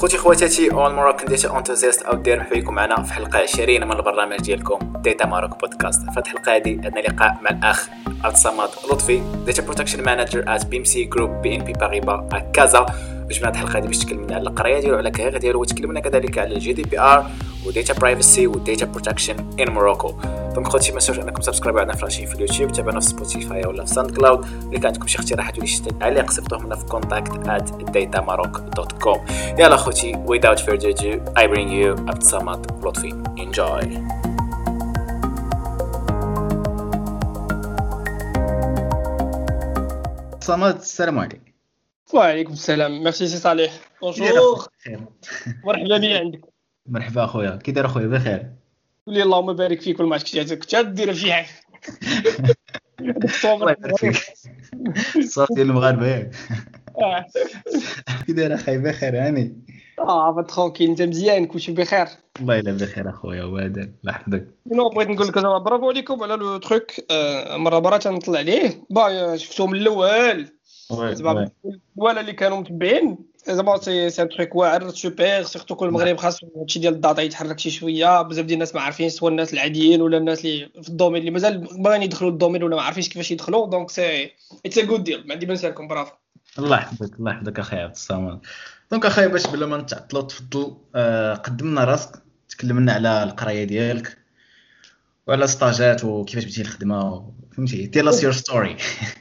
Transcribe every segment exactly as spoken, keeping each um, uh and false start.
خوتي خواتاتي اول مراكن ديتا انتوزيست او دير مرحبا بكم معنا في حلقه عشرين من البرنامج ديالكم ديتا ماروك بودكاست. في هذه الحلقه هذه عندنا لقاء مع الاخ عبد الصمد لطفي ديتا بروتكشن مانجر ات بي ام سي جروب بي ان بي باريبا كازا. وجبنا هذه الحلقه هذه باش تكلمنا على القرايه ديالو وعلى الكارير ديالو وتكلمنا كذلك على الجي دي بي ار وديتا برايفسي وديتا بروتكشن ان موروكو. دونك خوتي ما تنساوش انكم سبسكرايبوا عندنا في راشين في اليوتيوب، تابعونا في سبوتيفاي ولا في ساوند كلاود. اللي كان عندكم شي اقتراحات ولا شي تعليق صيفطوهم لنا في contact at datamarok dot com. يلا خوتي without further ado I bring you عبد الصمد لطفي. enjoy. صمد السلام عليكم. وعليكم السلام. ميرسي سي صالح. بونجور. مرحبا بك عندك. مرحبا اخويا، كي داير اخويا؟ بخير قولي اللهم بارك فيك. كل ما عرفتك كنت دير شي حاجه. الله يبارك فيك. الصوت ديال المغاربه ياك. اه كي داير اخاي؟ بخير هاني. اه بترونكيل، انت مزيان؟ كلشي بخير؟ الله يلا بخير اخويا وهذا الله يحفظك. نو بغيت نقول لك انا برافو عليكم على لو تروك. مره مره تنطلع عليه با شفتو من الاول زعما ولا اللي كانوا متبعين زعما سي سي تروك واعر سوبر. سيرتو كل المغرب خاص هادشي ديال الداتا يتحرك شي شويه. بزاف ديال الناس ما عارفين، سواء الناس العاديين ولا الناس اللي في الدومين اللي مازال باغيين يدخلوا للدومين ولا ما عارفينش كيفاش يدخلوا. دونك سي اتس ا جود ديل. ما عندي ما نسالكم. برافو. الله يحفظك الله يحفظك اخي عبد الصمد. دونك اخاي باش بلا ما نتعطلوا تفضل آه قدمنا راسك، تكلمنا على القرايه ديالك وعلى ستاجات وكيفاش بديتي الخدمه، فهمتي؟ تيل اس يور ستوري.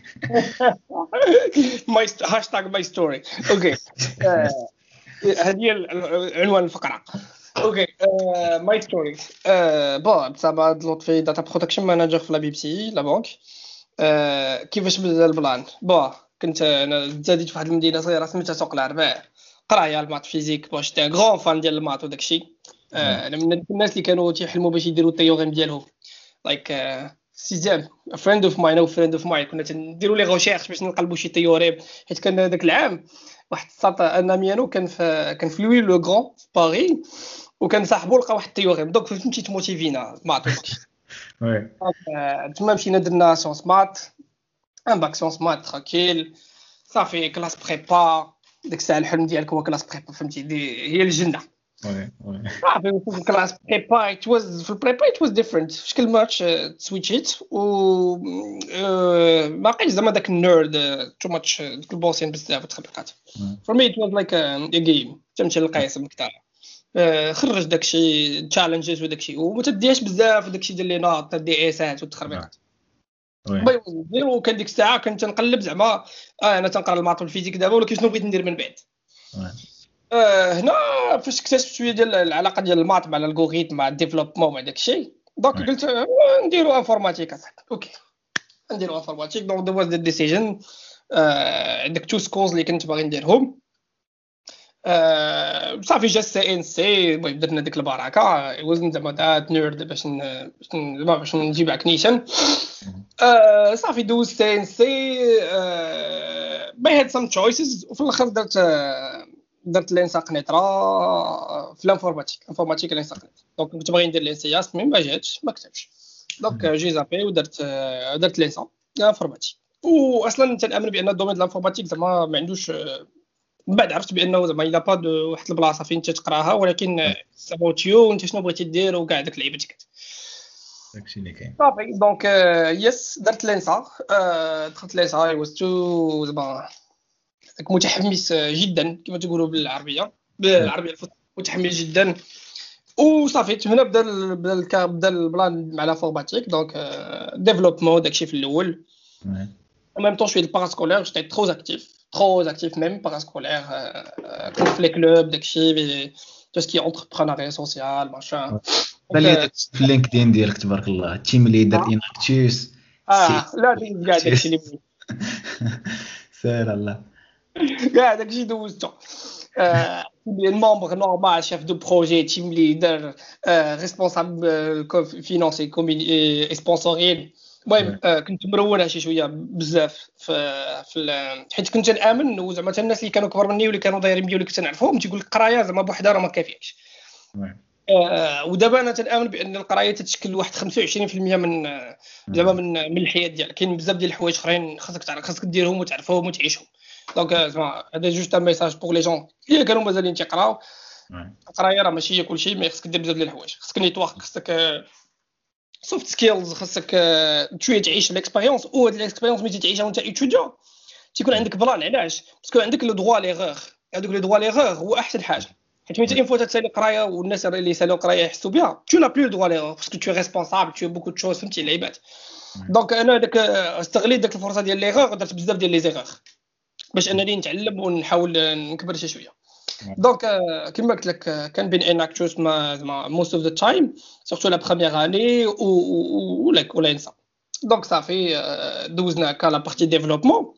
ماي هاشتاغ ماي ستوري. اوكي هذه عنوان الفقره. اوكي ماي ستوري. بون بصراحه لطفي داتا بروتكشن مانجر في لا بي بي سي لا بنك. كيفاش بدا البلان؟ بون كنت انا تزاديت في واحد المدينه صغيره سميتها سوق العرباء. قرايه المات فيزيك. واش تاع غران فان ديال المات وداك الشيء. انا من الناس اللي كانوا تيحلموا باش يديروا التيوريم ديالهم لايك سيزام فريند اوف ماين او فريند اوف ماين. كنا نديروا لي ريشيرش باش نقلبوا شي تيوريم، حيت كان هذاك العام واحد الساط ان ميانو كان في كان في لوي لو غران في باري، وكان صاحبو لقى واحد التيوريم. دونك فهمتي تموتيفينا مات داكشي. وي تما مشينا درنا سيونس مات ان باك سيونس مات ترانكيل صافي. كلاس بريبا ديك الساعه الحلم ديالك هو كلاس بريبا، فهمتي؟ دي هي الجنه. وي وي صافي في كلاس بريبا it was في البريبا it was different. في شكل ماتش سويتشيت و باقي زعما داك النيرد تو ماتش ديك البوسين بزاف وتخبيقات. for me it was like a game. تمشي للقيس بكثار خرج داكشي تشالنجز وداكشي وما تديهاش بزاف وداكشي ديال لي ناط دي اسات والتخربيقات. باي نديرو. كان ديك الساعه كنت نقلب زعما اه انا تنقرا الماط والفيزيك دابا، ولكن شنو بغيت ندير من بعد. آه هنا فاش اكتشفت شويه ديال العلاقه ديال الماط مع الالغوريثم مع الديفلوبمون مع داكشي. دونك قلت آه نديرو انفورماتيك. اوكي نديرو انفورماتيك. دونك دو واز ذا ديسيجن. عندك تو سكولز اللي كنت باغي نديرهم. آه صافي جا سي ان سي. المهم درنا ديك البركه. وزن زعما دات نيرد باش زعما باش نجيب عكنيشن. آه صافي دوز سي ان سي. باي هاد سام تشويسز وفي الاخر درت آه درت لينساق نيترا في الانفورماتيك. انفورماتيك لينساق نيترا. دونك كنت باغي ندير لينسياس مي ما جاتش ما كتبش. دونك جي زابي ودرت آه درت لينسا انفورماتيك. واصلا تنامن بان الدومين ديال الانفورماتيك زعما ما عندوش. من بعد عرفت بانه زعما الا با دو واحد البلاصه فين تتقراها، ولكن سابوتيو انت شنو بغيتي دير وكاع داك لعيبتك داكشي اللي كاين. صافي. دونك يس درت لينسا. دخلت لينسا اي واز تو زعما متحمس جدا كما تقولوا بالعربيه بالعربيه الفصحى. متحمس جدا وصافي. هنا بدا بدا بدا البلان مع الانفورماتيك. دونك ديفلوبمون داكشي في الاول. en même temps je suis le parascolaire. J'étais trop actif trop actif même parascolaire. كنت في لي كلوب داكشي tout ce qui est entrepreneuriat social machin. بلي في لينكدين ديالك تبارك الله تيم ليدر اناكتوس. اه لا كاع داكشي اللي بغيت سير الله كاع داكشي دوزتو. euh membre normal, chef de projet, team leader, euh, responsable euh, financier et sponsoring. المهم كنت مرونه شي شويه بزاف في في حيت كنت نامن وزعما الناس اللي كانوا كبر مني واللي كانوا دايرين بيا واللي كنت نعرفهم تيقول لك القرايه زعما بوحدها راه ما كافياش. آه ودابا انا تنامن بان القرايه تتشكل واحد خمسة وعشرين بالمئة من زعما من من الحياه ديالك. كاين بزاف ديال الحوايج اخرين خاصك تعرف خاصك ديرهم وتعرفهم وتعيشهم. دونك زعما هذا جوست ان ميساج بور لي جون اللي كانوا مازالين تيقراو. القرايه راه ماشي هي كلشي، مي خصك دير بزاف ديال الحوايج، خصك نيتورك، خصك سوفت سكيلز، خصك شويه تعيش الاكسبيريونس، و هاد الاكسبيريونس ملي تعيشها وانت ايتوديون تيكون عندك بلان. علاش؟ باسكو عندك لو دروا ليغور، هذوك لي دروا ليغور هو احسن حاجه، حيت ملي تين فوا تسالي قرايه والناس اللي سالوا قرايه يحسوا بها تو لا بلو دروا ليغور باسكو تو ريسبونسابل تو بوكو دو شوز، فهمتي العباد. دونك انا داك استغليت داك الفرصه ديال ليغور درت بزاف ديال لي زيغور باش انني نتعلم ونحاول نكبر شي شويه. دونك كما قلت لك كان بين اناكتوس ما موست اوف ذا تايم سورتو لا بروميير اني و لاك ولا انسى. دونك صافي دوزنا هكا لا بارتي ديفلوبمون.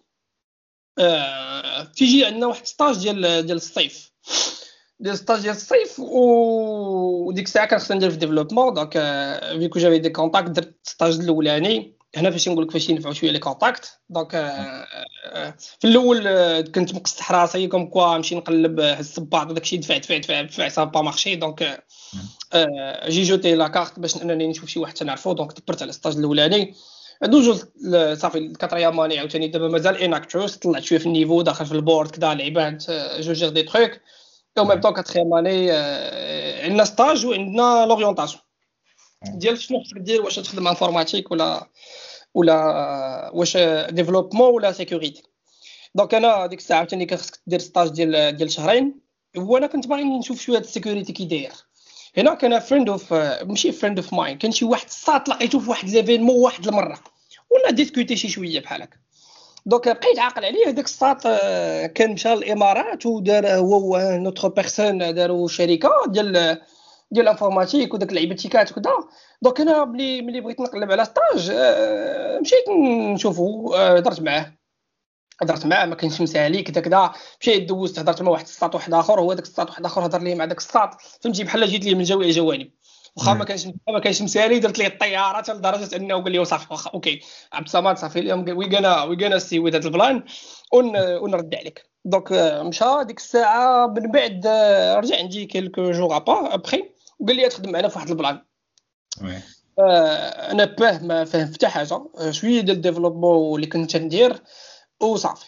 تيجي عندنا واحد ستاج ديال ديال الصيف ديال ستاج ديال الصيف وديك الساعه كان خصني ندير في ديفلوبمون. دونك فيكو جافي دي كونتاكت درت ستاج الاولاني هنا فاش نقول لك فاش ينفعوا شويه لي كونتاكت. دونك في الاول كنت مقصح راسي كوم كوا نمشي نقلب الصباط داكشي دفع دفع دفع دفع سا با مارشي. دونك جي جوتي لا كارت باش انني نشوف شي واحد تنعرفو. دونك دبرت على الستاج الاولاني دوزو صافي الكاتريام ماني عاوتاني دابا مازال اناكتوس، طلعت شويه في النيفو داخل في البورد كدا لعبات جو جير دي تروك. او ميم طون كاتريام ماني عندنا ستاج وعندنا لوريونطاسيون ديال شنو خصك دير، واش تخدم انفورماتيك ولا ولا واش ديفلوبمون ولا سيكوريتي. دونك انا ديك الساعه عاوتاني كان خصك دير ستاج ديال ديال شهرين، وانا كنت باغي نشوف شويه السيكوريتي كي داير. هنا كان فريند اوف ماشي فريند اوف ماين، كان شي واحد الساط لقيتو في واحد ليفينمون واحد المره ولا ديسكوتي شي شويه بحال هكا. دونك بقيت عاقل عليه هذاك الساط كان مشى للامارات ودار هو نوتر بيرسون داروا شركه ديال ديال الانفورماتيك وداك اللعيبتيكات وكذا. دونك انا ملي ملي بغيت نقلب على ستاج مشيت نشوفو، هضرت معاه هضرت معاه ما كانش مسالي كذا كذا. مشيت دوزت هضرت مع واحد الساط واحد اخر، هو داك الساط واحد اخر هضر لي مع داك الساط، فهمتي بحال جيت ليه من جميع الجوانب. واخا ما كانش ما كانش مسالي درت ليه الطياره حتى لدرجه انه قال لي صافي واخا اوكي عبد الصمد صافي اليوم وي غانا وي غانا سي وذ هذا البلان ونرد عليك. دونك مشى ديك الساعه من بعد رجع عندي كيلكو جوغ ابا ابخي وقال لي تخدم معنا في واحد البلان. وي انا باه ما فهم حتى حاجه، شويه ديال الديفلوبمون اللي كنت ندير وصافي.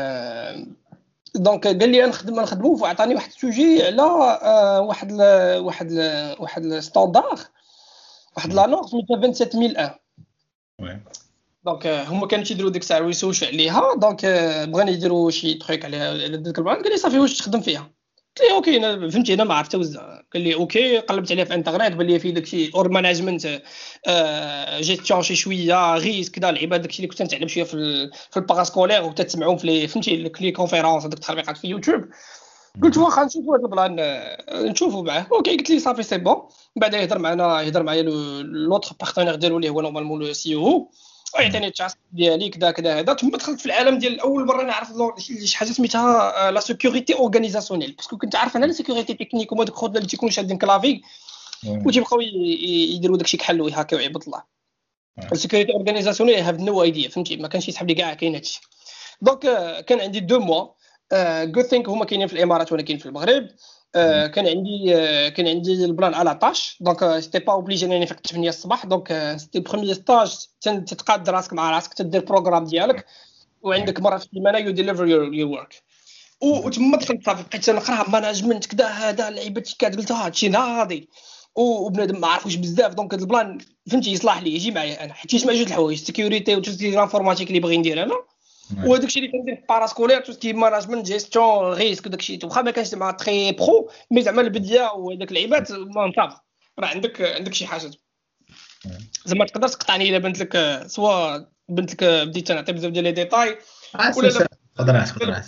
دونك قال لي نخدم نخدمو وعطاني واحد السوجي على واحد ل واحد ل واحد الستاندار واحد لا نورم سميتها سبعة وعشرين ألف. وي دونك هما كانوا تيديروا ديك الساعه ويسوشوا عليها. دونك بغاني يديروا شي تريك على ديك البلان. قال لي صافي واش تخدم فيها؟ قلت لي اوكي انا فهمتي انا ما عرفت توزع. قال لي اوكي قلبت عليها في الانترنت بان لي فيه داكشي اور ماناجمنت جيستيون شي شويه ريسك كذا العباد داكشي اللي كنت نتعلم شويه في في الباراسكولير وتتسمعوا في لي فهمتي لي كونفيرونس هذوك التطبيقات في يوتيوب. قلت واخا نشوفوا هذا البلان نشوفوا معاه. اوكي قلت لي صافي سي بون. بعدا يهضر معنا يهضر معايا لوطخ بارتنير ديالو اللي هو نورمالمون لو سي او ويعطيني التاسك ديالي كذا كذا هذا. ثم دخلت في العالم ديال اول مره نعرف شي حاجه سميتها لا سيكوريتي اورغانيزاسيونيل، باسكو كنت عارف انا لا سيكوريتي تكنيك وما دوك خوتنا اللي تيكونوا شادين كلافي وتيبقاو يديروا داكشي كحلو يهاكيو عباد الله. السيكوريتي اورغانيزاسيونيل هاف نو ايديا فهمتي ما كانش يسحب لي كاع كاين هادشي. دونك كان عندي دو موا good thing هما كاينين في الامارات وانا كاين في المغرب. كان عندي كان عندي البلان على طاش. دونك سيتي با اوبليجي انني نفيق ثمانية الصباح. دونك سيتي بروميير ستاج تتقاد راسك مع راسك تدير بروغرام ديالك وعندك مره في السيمانه يو ديليفر يور ورك. وتما دخلت صافي بقيت نقرا ماناجمنت كذا هذا اللعيبات كات قلت هادشي ناضي وبنادم ما عرفوش بزاف. دونك هذا البلان فهمتي يصلح لي يجي معايا انا حيت يجمع جوج الحوايج سيكوريتي وتسجيل الانفورماتيك اللي باغي ندير انا وهذاك الشيء اللي كندير في باراسكولير تو سكي ماناجمنت جيستيون ريسك وداك الشيء. واخا ما كانش زعما تري برو مي زعما البديه وهذاك اللعيبات ما صافي راه عندك عندك شي حاجه زعما تقدر تقطعني الا بنت لك سوا بنت لك بديت نعطي بزاف ديال لي ديتاي ولا قدرات قدرات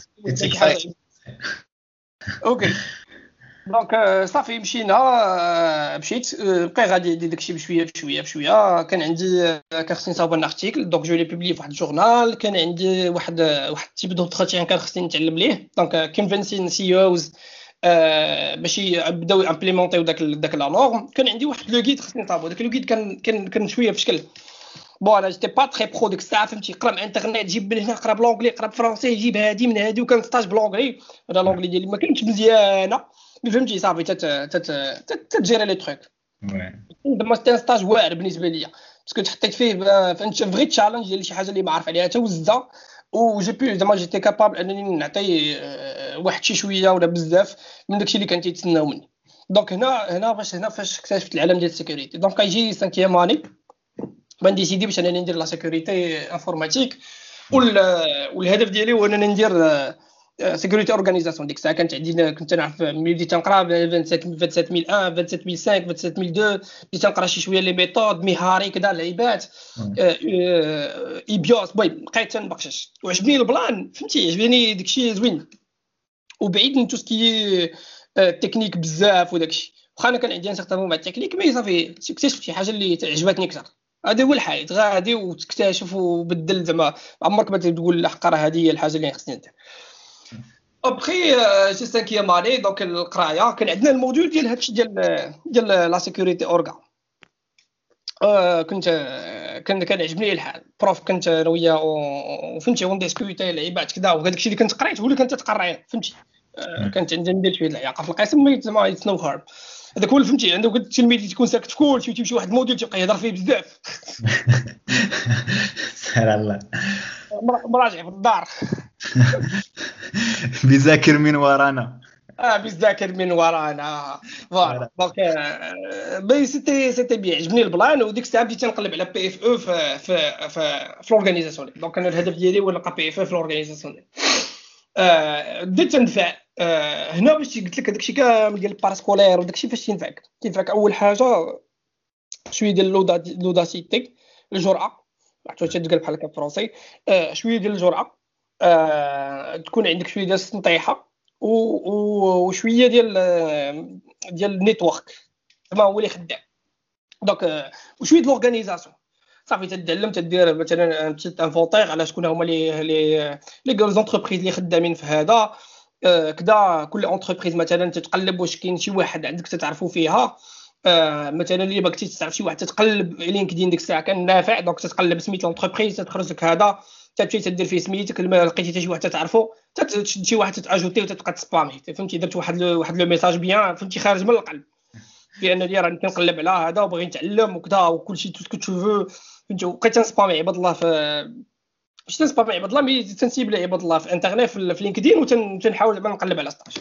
اوكي. دونك صافي مشينا مشيت بقى غادي داكشي بشويه بشويه بشويه. كان عندي كان خصني نصاوب ان ارتيكل دونك جو لي بوبلي في واحد الجورنال. كان عندي واحد واحد تيب دونتروتيان كان خصني نتعلم ليه. دونك كونفينسين سي اوز باش يبداو امبليمونطيو داك داك لا نورم. كان عندي واحد لو غيد خصني نصاوبو. داك لو غيد كان كان كان شويه في شكل بون انا جيتي با تري برو ديك الساعه فهمتي. قرا من انترنيت جيب من هنا قرا بلونجلي قرا بالفرنسي جيب هادي من هادي وكان ستاج بلونجلي. هذا لونجلي ديالي ما كانش مزيانه فهمتي صافي تت تت تجيري لي تروك. وي دابا ستي ستاج واعر بالنسبه ليا باسكو تحطيت فيه فهمت فغي تشالنج ديال شي حاجه اللي ما عارف عليها حتى وزه و جي بي زعما جيتي كابابل انني نعطي واحد شي شويه ولا بزاف من داكشي اللي كان تيتسناو مني. دونك هنا هنا فاش هنا فاش اكتشفت العالم ديال السيكوريتي. دونك كيجي سانكيام اني بنديسيدي باش انني ندير لا سيكوريتي انفورماتيك، والهدف ديالي هو انني ندير سيكوريتي اورغانيزاسيون. ديك الساعه كانت عندي كنت نعرف ملي بديت نقرا سبعة سبعة ألف وواحد سبعة ألف وخمسة سبعة ألف واثنين بديت نقرا شي شويه لي ميثود مهاري كذا لعيبات اي بيوس باي بقيت تنبقشش وعجبني البلان فهمتي، عجبني داكشي زوين وبعيد من توسكي تكنيك بزاف وداكشي. واخا انا كان عندي ان سيغتان مع التكنيك مي صافي اكتشفت شي حاجه اللي عجبتني اكثر. هذا هو الحياه، غادي وتكتشف وبدل زعما عمرك ما تقول الحق راه هذه هي الحاجه اللي خصني ندير. ابخي جي سانكيام اني دونك القرايه كان عندنا الموديول ديال هادشي ديال ديال لا سيكوريتي اورغا. آه كنت كان كان عجبني الحال بروف كنت انا وياه وفهمتي اون ديسكوتي لعيبات كذا وهذاك الشيء اللي كنت قريت هو اللي كنت تقرا فهمتي. آه كانت عندي ندير شويه العياقه في القسم مي زعما اتس نو هارم. هذاك هو فهمتي عنده قلت التلميذ تكون ساكت في كلشي وتمشي واحد الموديل تبقى يهضر فيه بزاف سهل الله مراجع في الدار بيذاكر من ورانا اه بيذاكر من ورانا فوالا. دونك بي سيتي سيتي بي عجبني البلان. وديك الساعه بديت نقلب على بي اف او في في في في لورغانيزاسيون. دونك انا الهدف ديالي هو نلقى بي اف او في لورغانيزاسيون. آه بديت ندفع آه هنا باش قلت لك داكشي كامل ديال الباراسكولير وداكشي فاش تنفعك تنفعك اول حاجه شويه ديال لوداسيتي الجرأه عرفتوا تتقال بحال هكا فرونسي. آه شويه ديال الجرأه آه تكون عندك شويه ديال السنطيحه وشويه ديال ديال النيتورك زعما هو اللي خدام. دونك وشويه د لورغانيزاسيون صافي تتعلم تدير مثلا بتيت انفونتير على شكون هما لي لي لي غوز انتربريز اللي خدامين في هذا كذا. كل انتربريز مثلا تتقلب واش كاين شي واحد عندك تتعرفوا فيها مثلا اللي بغيتي تعرف شي واحد تتقلب لينكدين ديك الساعه كان نافع. دونك تتقلب سميت الانتربريز تخرج لك هذا تمشي تدير فيه سميتك لقيتي حتى شي واحد تعرفو تشد شي واحد تاجوتي وتبقى تسبامي فهمتي. درت واحد واحد لو ميساج بيان فهمتي خارج من القلب بان لي راني كنقلب على هذا وبغي نتعلم وكذا وكلشي تو سكو تو فهمتي. وبقيت نسبامي عباد الله في باش تنسبامي عباد الله مي تنسيبل عباد الله في انترنيت في لينكدين وتنحاول زعما نقلب على ستاج.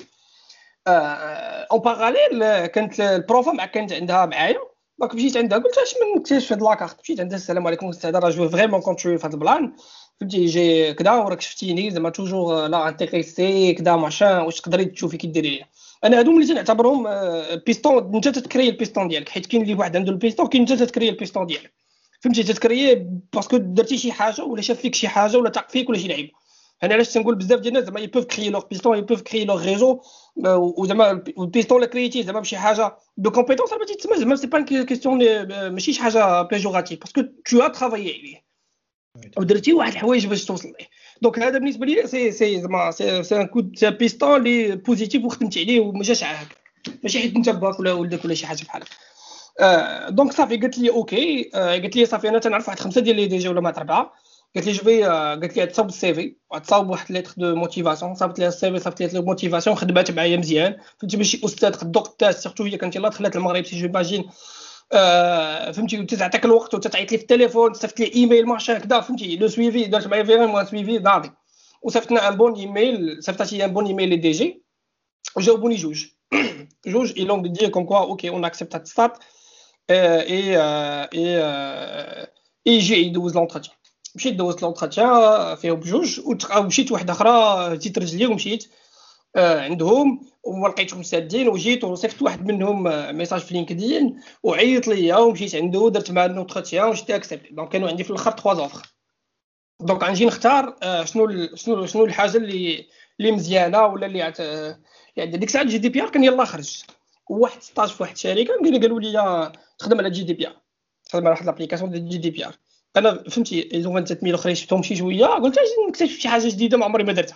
اون باراليل كانت البروفا مع كانت عندها معايا دونك مشيت عندها قلت اش من نكتشف هاد لاكارت. مشيت عندها السلام عليكم استاذ راه جو فريمون كونتري في هاد البلان فهمتي جي كذا وراك شفتيني زعما توجور لا انتريسي كذا ماشان واش تقدري تشوفي كي ديري ليا. انا هادو اللي تنعتبرهم بيستون انت تتكري البيستون ديالك حيت كاين اللي واحد عنده البيستون كاين انت تتكري البيستون ديالك فهمتي. تتكري باسكو درتي شي حاجه ولا شاف فيك شي حاجه ولا تاق فيك ولا شي لعيب. انا علاش تنقول بزاف ديال الناس زعما يبوف كري لور بيستون يبوف كري لور ريزو وزعما البيستون لا كريتي زعما بشي حاجه دو كومبيتونس راه تسمى زعما سي با كيسيون ماشي شي حاجه بيجوراتيف باسكو تو ا ترافايي عليه ودرتي واحد الحوايج باش توصل ليه. دونك هذا بالنسبه لي سي سي زعما سي سي ان كود سي بيستون لي بوزيتيف وخدمت عليه وما جاش عاك ماشي حيت انت باك ولا ولدك ولا شي حاجه بحال هكا. آه دونك صافي قالت لي اوكي. آه قالت لي صافي انا تنعرف واحد خمسه ديال لي ديجا ولا ما اربعه. قالت لي جوي آه قالت لي تصاوب السي في وتصاوب واحد ليتر دو موتيفاسيون. صاوبت لي السي في صاوبت لي موتيفاسيون خدمات معايا مزيان فهمتي ماشي استاذ قد دكتور سيرتو هي كانت يلاه دخلت المغرب سي جو باجين آه فهمتي تعطيك الوقت وتعيط لي في التليفون صيفط لي ايميل ماشي هكذا فهمتي لو سويفي درت معايا فريمون سويفي ناضي وصيفطنا ان بون ايميل صيفطتي ان بون ايميل لي دي جي وجاوبوني جوج جوج اي لونغ دي كوم كوا اوكي اون اكسبت هاد ستات اي اي اي جي يدوز لونتروتيان. مشيت دوزت لونتروتيان فيهم بجوج ومشيت واحده اخرى زيت رجلي ومشيت عندهم وما لقيتهم سادين وجيت وصيفط واحد منهم ميساج في لينكدين وعيط ليا ومشيت عنده درت معاه لونتروتيان وجيت اكسبت. دونك كانوا عندي في الاخر ثلاثه زوفر. دونك غنجي نختار شنو شنو شنو الحاجه اللي اللي مزيانه ولا اللي عت... يعني ديك الساعه جي دي بي ار كان يلاه خرج وواحد ستاج في واحد الشركه قالوا لي تخدم على جي دي بي ار تخدم على واحد لابليكاسيون ديال جي دي بي ار. انا فهمتي ايزو ثلاثمية الاخرين شفتهم شي شويه قلت اش نكتشف شي حاجه جديده ما عمري ما درتها.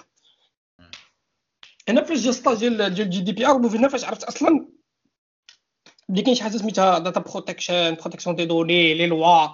هنا فاش جا ستاج ديال جي دي بي ار وهنا فاش عرفت اصلا بلي كاين شي حاجه سميتها داتا بروتكشن بروتكسيون دي دوني لي لوا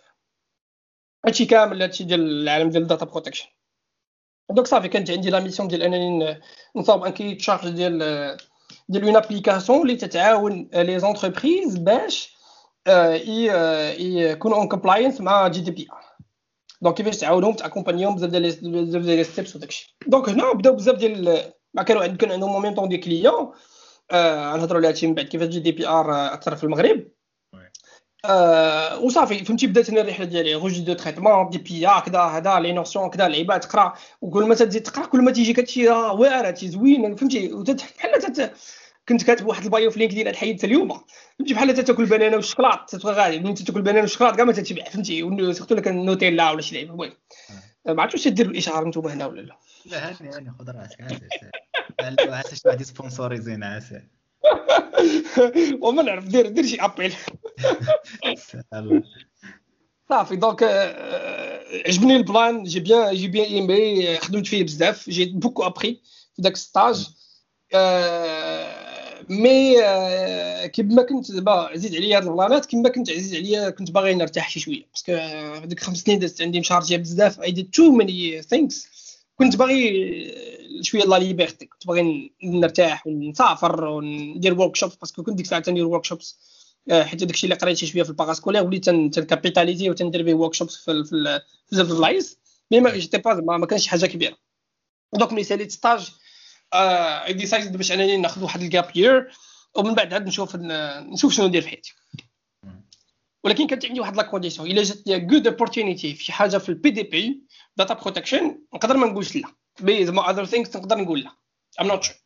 هادشي كامل هادشي ديال العالم ديال الداتا بروتكشن. دونك صافي كانت عندي لا ميسيون ديال انني نصاوب ان كي تشارج ديال ديال اون ابليكاسيون اللي تتعاون لي زونتربريز باش يكونوا اون كومبلاينس مع جي دي بي ار. دونك كيفاش تعاونهم تاكومبانيهم بزاف ديال بزاف ديال لي ستيبس وداكشي. دونك هنا بداو بزاف ديال ما كانوا عند كان عندهم مومين طون دي كليون. آه نهضروا على هادشي من بعد كيفاش جي دي بي ار اثر في المغرب. آه وصافي فهمتي بدات انا الرحله ديالي روجي دو تريتمون دي بي كذا هذا لي نوسيون كذا اللعيبه تقرا وكل ما تزيد تقرا كل ما تيجي كتشي راه واعر هادشي زوين فهمتي بحال تت... كنت كاتب واحد البايو في لينكدين الحيد اليوم فهمتي بحال تاكل بنانه والشوكولات تتبغى غادي ملي تاكل بنانه والشوكولات كاع ما تتبع فهمتي سورتو لك النوتيلا ولا شي لعيبه. المهم ما عرفتش واش ديروا الاشهار نتوما هنا ولا لا. لا هاني هاني خذ راسك عسى عسى شي واحد سبونسوريزينا عسى وما نعرف دير دير شي ابيل صافي. دونك عجبني البلان جي بيان جي بيان ايمي خدمت فيه بزاف جي بوكو ابري في داك ستاج. مي كيما كنت دابا عزيز عليا هاد البلانات كيما كنت عزيز عليا كنت باغي نرتاح شي شويه باسكو هذيك خمس سنين دازت عندي مشارجيه بزاف اي ديد تو ماني ثينكس. كنت باغي شويه لا ليبرتي كنت باغي نرتاح ونسافر وندير ورك شوب باسكو كنت ديك الساعه تندير ورك شوبس حيت داكشي اللي قريت شويه في الباراسكولير وليت تنكابيتاليزي وتندير به ورك شوبس في في بزاف د البلايص مي ما جيتي با ما كانش حاجه كبيره. دونك ملي ساليت ستاج اي ديسايد باش انني ناخذ واحد الجاب يير ومن بعد عاد نشوف نشوف شنو ندير في حياتي. ولكن كانت عندي واحد لا كونديسيون الا جات لي غود اوبورتونيتي في شي حاجه في البي دي بي داتا بروتكشن نقدر ما نقولش لا بي زعما اذر ثينكس نقدر نقول لا ام نوت شور.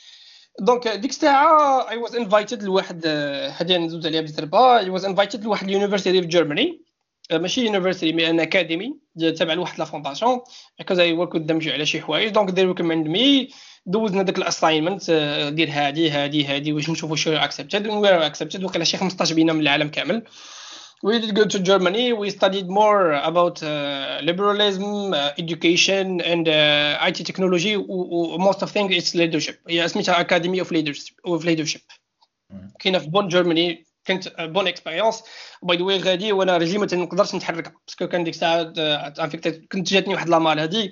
دونك ديك الساعه اي واز انفايتد لواحد هادي ندوز عليها بزربه اي واز انفايتد لواحد اليونيفرسيتي في جيرماني ماشي يونيفرسيتي مي ان اكاديمي تابع لواحد لا فونداسيون because I work with them على شي حوايج. دونك they recommend me دوزنا داك الاساينمنت دير هادي هادي هادي واش نشوفوا شنو اكسبتد و وير اكسبتد وقيلا شي خمسطاش بينا من العالم كامل. We did go to Germany. We studied more about uh, liberalism, uh, education, and uh, I T technology. و most of things it's leadership. هي سميتها Academy of Leadership. Of leadership. كاينه في بون جيرماني كانت بون اكسبيريونس. باي ذا واي غادي وانا رجلي ما تنقدرش نتحرك باسكو كان ديك الساعه انفيكت كنت جاتني واحد لامال هادي.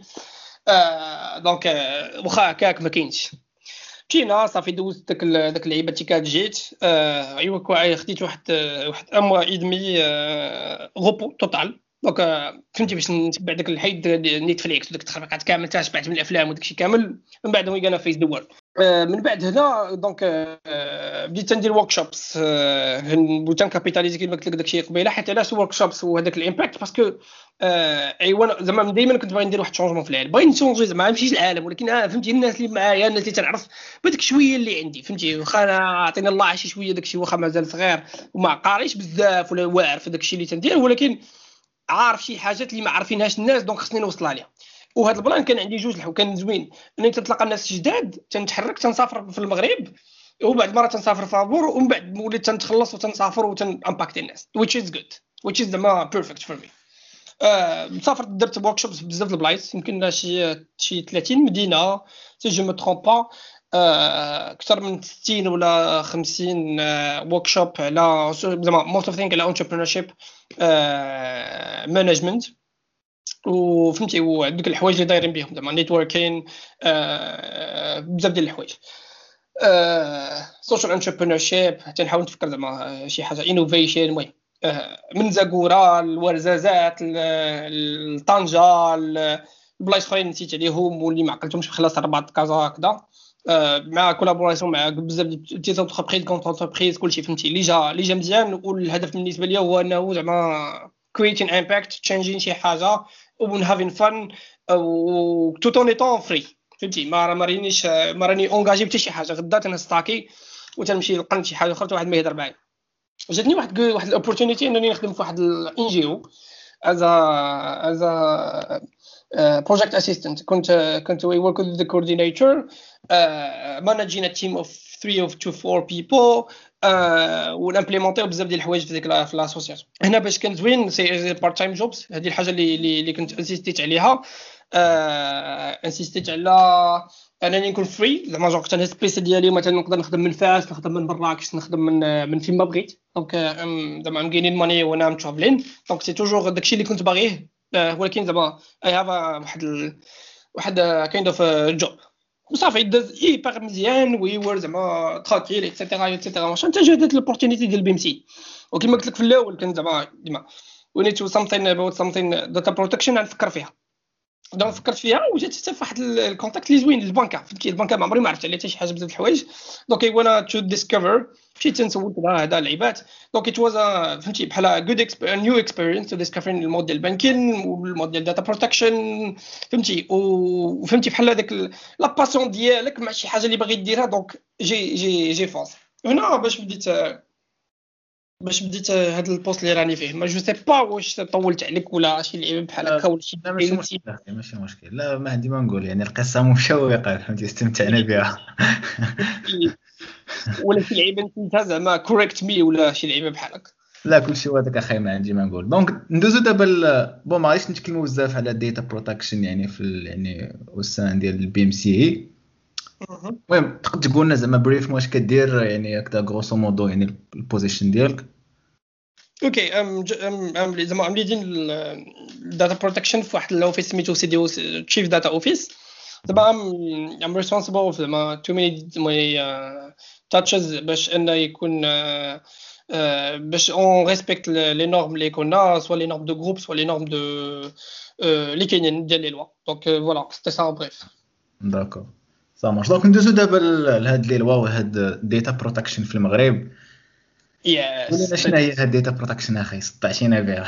آه دونك واخا هكاك ما كاينش مشينا صافي دوزت داك داك اللعيبه تي كات جيت. آه ايوا خديت واحد واحد اموا ايدمي غوبو توتال. دونك فهمتي باش نتبع داك الحيد نيتفليكس وداك التخربيقات كامل تاشبعت من الافلام وداك الشيء كامل. من بعد وي غانا فيس ذا وورلد. من بعد هنا دونك بديت ندير ورك شوبس بوتان كابيتاليزي كيما قلت لك داكشي قبيله حيت علاش ورك شوبس وهذاك الامباكت باسكو ايوا زعما دائما كنت باغي ندير واحد الشونجمون في العالم باغي نشونجي زعما نمشي للعالم ولكن آه فهمتي الناس اللي معايا الناس اللي تنعرف بداك شويه اللي عندي فهمتي واخا انا عطينا الله شي شويه داكشي واخا مازال صغير وما قاريش بزاف ولا واعر في داكشي اللي تندير ولكن عارف شي حاجات اللي ما عارفينهاش الناس دونك خصني نوصلها ليها. وهذا البلان كان عندي جوج الحو كان زوين اني تنتلاقى الناس جداد تنتحرك تنسافر في المغرب وبعد مره تنسافر فابور ومن بعد وليت تنتخلص وتنسافر وتنامباكتي الناس which is good which is the perfect for me. آه سافرت درت ورك شوبس بزاف د البلايص يمكن شي شي ثلاثين مدينه سي جو مو ترومب با. اكثر من ستين ولا خمسين ورك شوب على زعما موست اوف ثينك على انتربرينورشيب مانجمنت وفهمتي وعندك الحوايج اللي دايرين بهم زعما نيتوركين بزاف ديال الحوايج سوشيال انتربرينورشيب تنحاول نفكر زعما شي حاجه انوفيشن. المهم من زاكورا الورزازات الطنجه البلايص اخرين نسيت عليهم واللي ما عقلتهمش بخلاص الرباط كازا هكذا مع كولابوراسيون مع بزاف ديال تي زونتربريز كونت انتربريز كلشي فهمتي اللي جا اللي جا مزيان. والهدف بالنسبه ليا هو انه زعما creating impact changing شي حاجه و having fun و tout en étant free فهمتي ما رانيش ما راني اونغاجي حتى شي حاجه غدا تنستاكي وتنمشي نلقى شي حاجه اخرى واحد ما يهضر معايا. جاتني واحد واحد الاوبورتونيتي انني نخدم في واحد الان جي او از از بروجيكت اسيستنت. كنت كنت وي ورك وذ ذا كوردينيتور مانجين تيم اوف ثلاثة اوف تو فور بيبل ونامبليمونطيو بزاف ديال الحوايج في ديك في لاسوسياسيون هنا باش كان زوين سي بارت تايم جوبس. هذه الحاجه اللي اللي كنت انسيستيت عليها انسيستيت على انني نكون فري زعما جو كنت سبيس ديالي مثلا نقدر نخدم من فاس نخدم من مراكش نخدم من من فين ما بغيت. دونك زعما ام غينين ماني وانا ام ترافلين دونك سي توجور داكشي اللي كنت باغيه ولكن زعما اي هاف واحد ال... واحد كايند اوف جوب وصافي داز ايبر مزيان وي ور زعما ترانكيل ايتترا ايتترا ماشي انت جاتك لوبورتونيتي ديال بي ام سي. وكما قلت لك في الاول كان زعما ديما we need to something about something data protection نفكر فيها. دونك فكرت فيها وجات حتى فواحد الكونتاكت اللي زوين للبنكه، فهمتي البنكه ما عمري ما عرفت عليها حتى شي حاجه بزاف د الحوايج. دونك اي وانا تو ديسكفر مشيت نسولت هذا اللعيبات. دونك ات واز فهمتي بحال جود نيو اكسبيرينس تو ديسكفرين المود ديال البانكين والمود ديال داتا بروتكشن، فهمتي وفهمتي بحال هذاك لا باسيون ديالك مع شي حاجه اللي باغي ديرها. دونك جي جي جي فونس هنا باش بديت باش بديت هذا البوست اللي راني فيه. ما جو سي با واش طولت عليك ولا شي لعيبه بحال هكا ولا شي. لا ماشي مشكل، ماشي مشكل. لا ما عندي ما نقول، يعني القصه مشوقه فهمتي، استمتعنا بها. ولا شي لعيبه انت زعما كوريكت مي ولا شي لعيبه بحال هكا. لا كلشي هذاك اخي ما عندي ما نقول. دونك ندوزو دابا بون ما غاديش نتكلموا بزاف على الداتا بروتكشن يعني في ال... يعني والسان ديال البي ام سي. المهم تقدر تقول لنا زعما بريف واش كدير يعني هكذا غروسو مودو يعني البوزيشن ديالك. اوكي ام ام زعما عم ليدين الداتا بروتكشن في واحد الاوفيس سميتو سي دي او تشيف داتا اوفيس. دابا ام ريسبونسبل زعما تو ميني ماي تاتشز باش انه يكون باش اون ريسبكت لي نورم اللي كنا، سوا لي نورم دو جروب سوا لي نورم دو اللي كاينين ديال لي لوا. دونك فوالا سيتي سا بريف. داكور صا مارش. دونك ندوزو دابا لهاد لي لوا وهاد داتا بروتكشن في المغرب. يس قولنا شنو هي هاد داتا بروتكشن اخي، سطعتينا بها.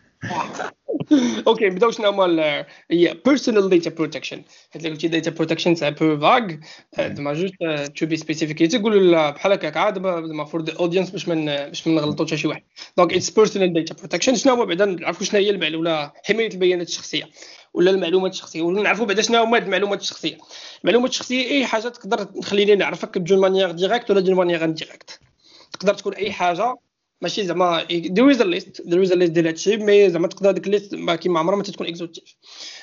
اوكي نبداو شنو هما هي بيرسونال داتا بروتكشن. حيت قلتي داتا بروتكشن سي ان بو فاغ، زعما جوست تو بي سبيسيفيك تقول بحال هكاك عاد زعما فور ذا اودينس باش من باش ما نغلطوش حتى شي واحد. دونك اتس بيرسونال داتا بروتكشن. شنو هو بعدا نعرفوا شنو هي المعلومه ولا حمايه البيانات الشخصيه ولا المعلومات الشخصيه، ولا نعرفوا بعدا شنو هما المعلومات الشخصيه. المعلومات الشخصيه اي حاجه تقدر تخليني نعرفك بجون مانيير ديريكت ولا جون مانيير انديريكت. تقدر تكون اي حاجه ماشي زعما there is a list there is a list ديال هادشي، مي زعما تقدر ديك ليست كيما عمرها ما تكون اكزوتيف.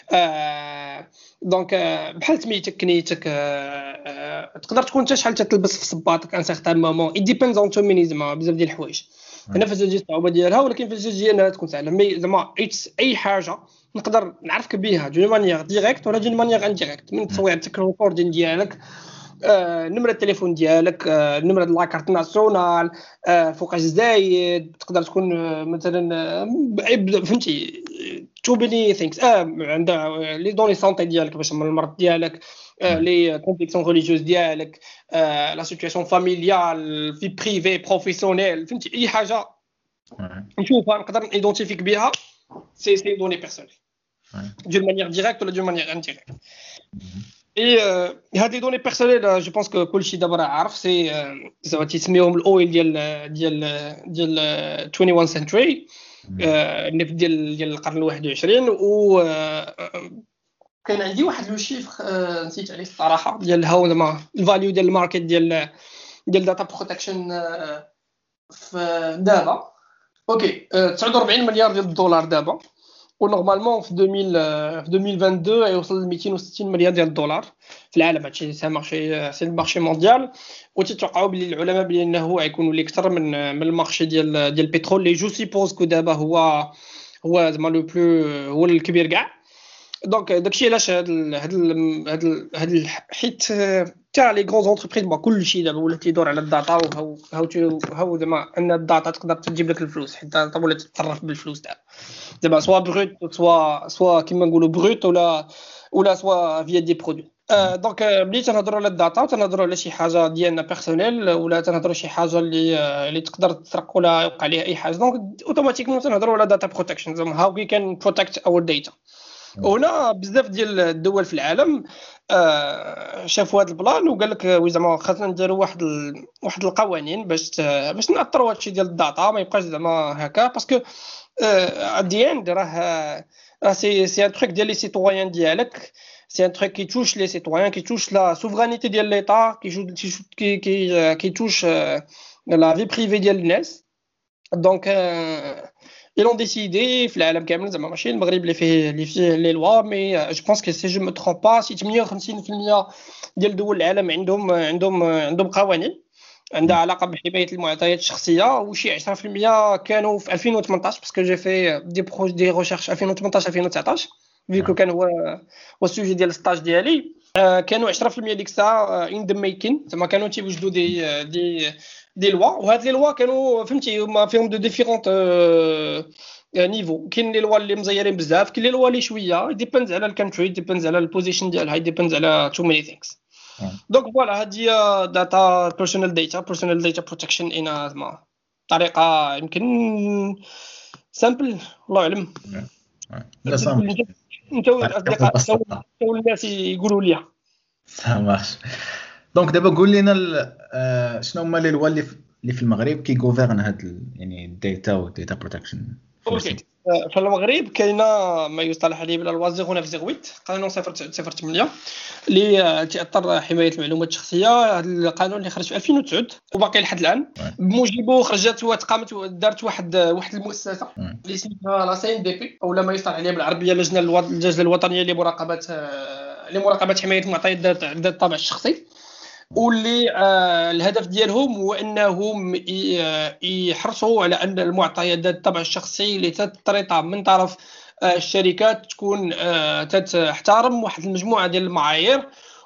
آه دونك بحال سميتك كنيتك آه تقدر تكون حتى شحال تلبس في صباطك ان سيغتان مومون. it depends on too many زعما بزاف ديال الحوايج. هنا فاش تجي الصعوبه ديالها، ولكن فاش تجي انها تكون سهله. مي زعما اي حاجه نقدر نعرفك بها دون مانيير ديريكت ولا دون مانيير انديريكت، من تصويرتك الريكوردين ديالك، آه، نمرة التليفون ديالك، آه، نمرة لاكارت ناسيونال، آه، فوقاش زايد. تقدر تكون آه، مثلا آه، فهمتي تو بيني ثينكس اه عندها لي دوني سونتي ديالك باش من المرض ديالك، آه، لي كونفيكسيون ريليجيوز ديالك، آه، لا سيتوياسيون فاميليال، في بريفي بروفيسيونيل، فهمتي اي حاجه نشوفها نقدر ايدونتيفيك بها. سي سي دوني بيرسونيل دون مانيير ديريكت ولا دون مانيير انديريكت. اي هاد لي دوني بيرسونيل جو بونس كو كلشي دابا راه عارف سي زعما تيسميوهم الاويل ديال ديال ديال واحد وعشرين سنتري، النفط ديال ديال القرن الواحد والعشرين. و كان عندي واحد لو شيفر نسيت عليه الصراحه ديال هاو زعما الفاليو ديال الماركت ديال ديال داتا بروتكشن في دابا. اوكي تسعة وأربعين مليار ديال الدولار دابا، ونورمالمون في ألفين في ألفين واثنين وعشرين يوصل ل مئتين وستين مليار ديال الدولار في العالم. هادشي سي مارشي سي المارشي مونديال، وتتوقعوا بلي العلماء بلي انه غيكون ولي اكثر من من المارشي ديال ديال البترول اللي جو سيبوز كو دابا هو هو زعما لو بلو هو الكبير كاع. دونك داكشي علاش هاد هاد هاد هاد حيت تاع لي غون زونتربريز با كلشي دابا ولا تيدور على الداتا، وهاو هاو هاو زعما ان الداتا تقدر تجيب لك الفلوس، حيت الداتا ولا تتصرف بالفلوس دابا دابا سوا بروت سوا سوا كيما نقولوا بروت ولا ولا سوا فيا دي برودوي. دونك ملي تنهضروا على الداتا تنهضروا على شي حاجه ديالنا بيرسونيل، ولا تنهضروا شي حاجه اللي اللي تقدر تسرق ولا يوقع عليها اي حاجه. دونك اوتوماتيكمون تنهضروا على داتا بروتكشن، زعما هاو وي كان بروتكت اور داتا. وهنا بزاف ديال الدول في العالم آه شافوا هذا البلان وقال لك زعما خاصنا نديروا واحد ال... واحد القوانين باش باش ناثروا هادشي ديال الداتا ما يبقاش زعما هكا. باسكو ادي اند راه راه سي سي ان تروك ديال لي سيتويان ديالك، سي ان تروك كي توش لي سيتويان، كي توش لا سوفرانيتي ديال ليطا، كي كي كي كي توش لا في بريفي ديال الناس. دونك ils ont décidé في العالم كامل زعما ماشي المغرب اللي فيه اللي فيه لي لوا، مي جو بونس كو سي جو مو ترومب با سي ثمانية وخمسين بالمية ديال دول العالم عندهم عندهم عندهم قوانين عندها علاقه بحمايه المعطيات الشخصيه، وشي عشرة بالمية كانوا في ألفين وثمنطاش باسكو جي في دي بروج دي ريشيرش ألفين وثمنطاش ألفين وتسعطاش فيكو كان هو هو السوجي ديال الستاج ديالي. كانوا عشرة بالمية ديك الساعه ان ذا ميكين، زعما كانوا تيوجدوا دي دي دي لوا، وهاد لي لوا كانوا فهمتي هما فيهم دو ديفيرونت نيفو. كاين لي لوا اللي مزيرين بزاف، كاين لي لوا اللي شويه ديبيندز على الكونتري، ديبيندز على البوزيشن ديالها، ديبيندز على تو ماني ثينكس. دونك فوالا هادي داتا بيرسونال داتا بيرسونال داتا بروتكشن ان زعما طريقه يمكن سامبل الله يعلم. لا سامبل انت انت الاصدقاء تو الناس يقولوا لي ساماش. دونك دابا قول لنا شنو هما لي لوا اللي اللي في المغرب كي غوفيرن هاد يعني الداتا والداتا بروتكشن. اوكي في المغرب كاينه ما يصطلح عليه باللوا صفر تسعة ثمانية قانون صفر صفر ثمانية اللي تاثر حمايه المعلومات الشخصيه. هذا القانون اللي خرج في ألفين وتسعة وباقي لحد الان. بموجبه خرجت وتقامت دارت واحد واحد المؤسسه اللي اسمها لا سي ان دي بي او ما يصطلح عليه بالعربيه لجنه اللجنه الوطنيه لمراقبه لمراقبه حمايه المعطيات ذات الطابع الشخصي. واللي آه الهدف ديالهم هو انهم يحرصوا على ان المعطيات ذات الطابع الشخصي اللي تترطى من طرف آه الشركات تكون آه تحترم واحد المجموعه ديال المعايير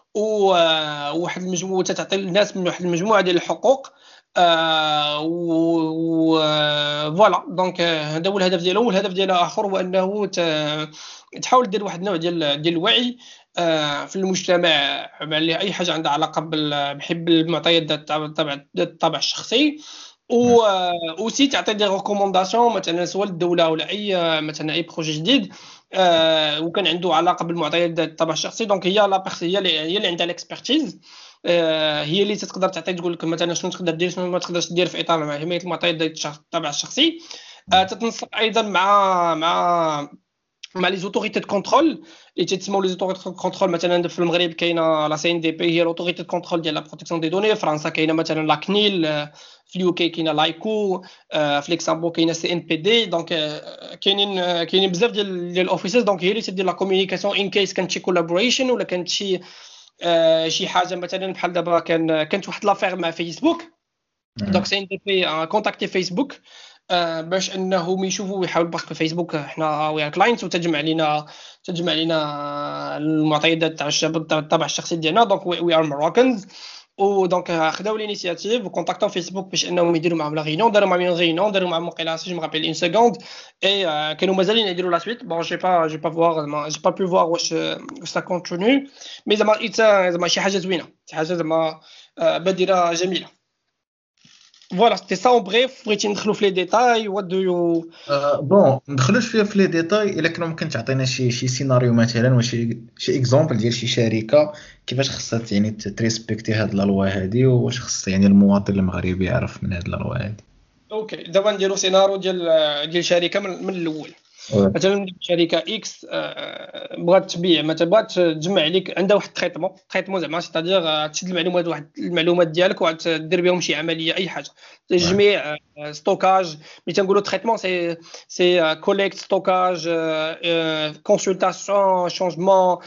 وواحد المجموعه تعطي الناس من واحد المجموعه ديال الحقوق. آه و فوالا دونك هذا هو الهدف ديالهم. والهدف ديال اخر هو انه تحاول دير واحد النوع ديال ديال الوعي في المجتمع على اي حاجه عندها علاقه بحب المعطيات ذات الطابع الطابع الشخصي. و اوسي تعطي دي ريكومونداسيون مثلا سواء الدوله ولا اي مثلا اي بروجي جديد آه وكان عنده علاقه بالمعطيات ذات الطابع الشخصي. دونك هي لا بيرسون هي اللي هي اللي عندها الاكسبرتيز آه هي اللي تقدر تعطي تقول لك مثلا شنو تقدر دير شنو ما تقدرش دير في اطار حمايه المعطيات ذات الطابع الشخصي. آه تتنسق ايضا مع مع مع لي زوتوريتي دو كونترول اللي تسموا لي زوتوريتي دو كونترول. مثلا في المغرب كاينه لا سي ان دي بي هي لوتوريتي دو كونترول ديال لا بروتيكسيون دي دوني. فرنسا كاينه مثلا لا كنيل، في اليو كي كاينه لايكو، في ليكسامبور كاينه سي ان بي دي. دونك كاينين كاينين بزاف ديال ديال الاوفيسز. دونك هي اللي تدير لا كومونيكاسيون ان كيس كانت شي كولابوريشن ولا كانت شي شي حاجه مثلا بحال دابا كان كانت واحد لافير مع فيسبوك. دونك سي ان دي بي كونتاكتي فيسبوك آه باش انهم يشوفوا ويحاولوا باسكو فيسبوك حنا ويا كلاينت وتجمع لينا تجمع لينا المعطيات تاع الطابع الشخصي ديالنا. دونك وي ار ماروكانز. ودونك خداو لينيسياتيف وكونتاكتاو فيسبوك باش انهم يديروا معهم لا ريونيون. داروا معهم ريونيون داروا معهم مقيله سي جو مابيل اون سكوند اي آه كانوا مازالين يديروا لا سويت. بون جي با جي با فوار جي با بو فوار واش سا كونتينيو مي زعما زعما شي حاجه زوينه شي حاجه زعما آه بادره جميله. فوالا سيتي سا اون بريف. بغيتي ندخلوا في لي ديتاي وات دو يو بون ندخلوش فيها في لي ديتاي الا كنا ممكن تعطينا شي شي سيناريو مثلا وشي شي اكزامبل ديال شي شركه كيفاش خصها يعني تريسبكتي هاد لا لوا هادي واش خص يعني المواطن المغربي يعرف من هاد لا لوا هادي. اوكي دابا نديرو سيناريو ديال ديال شركه من, من الاول. مثلا شركه اكس بغات تبيع مثلا بغات تجمع عليك عندها واحد التريتمون تريتمون زعما سيتادير تشد المعلومات واحد المعلومات ديالك وتدير بهم شي عمليه اي حاجه تجميع ستوكاج. ملي تنقولوا تريتمون سي سي كوليكت ستوكاج كونسلطاسيون شونجمون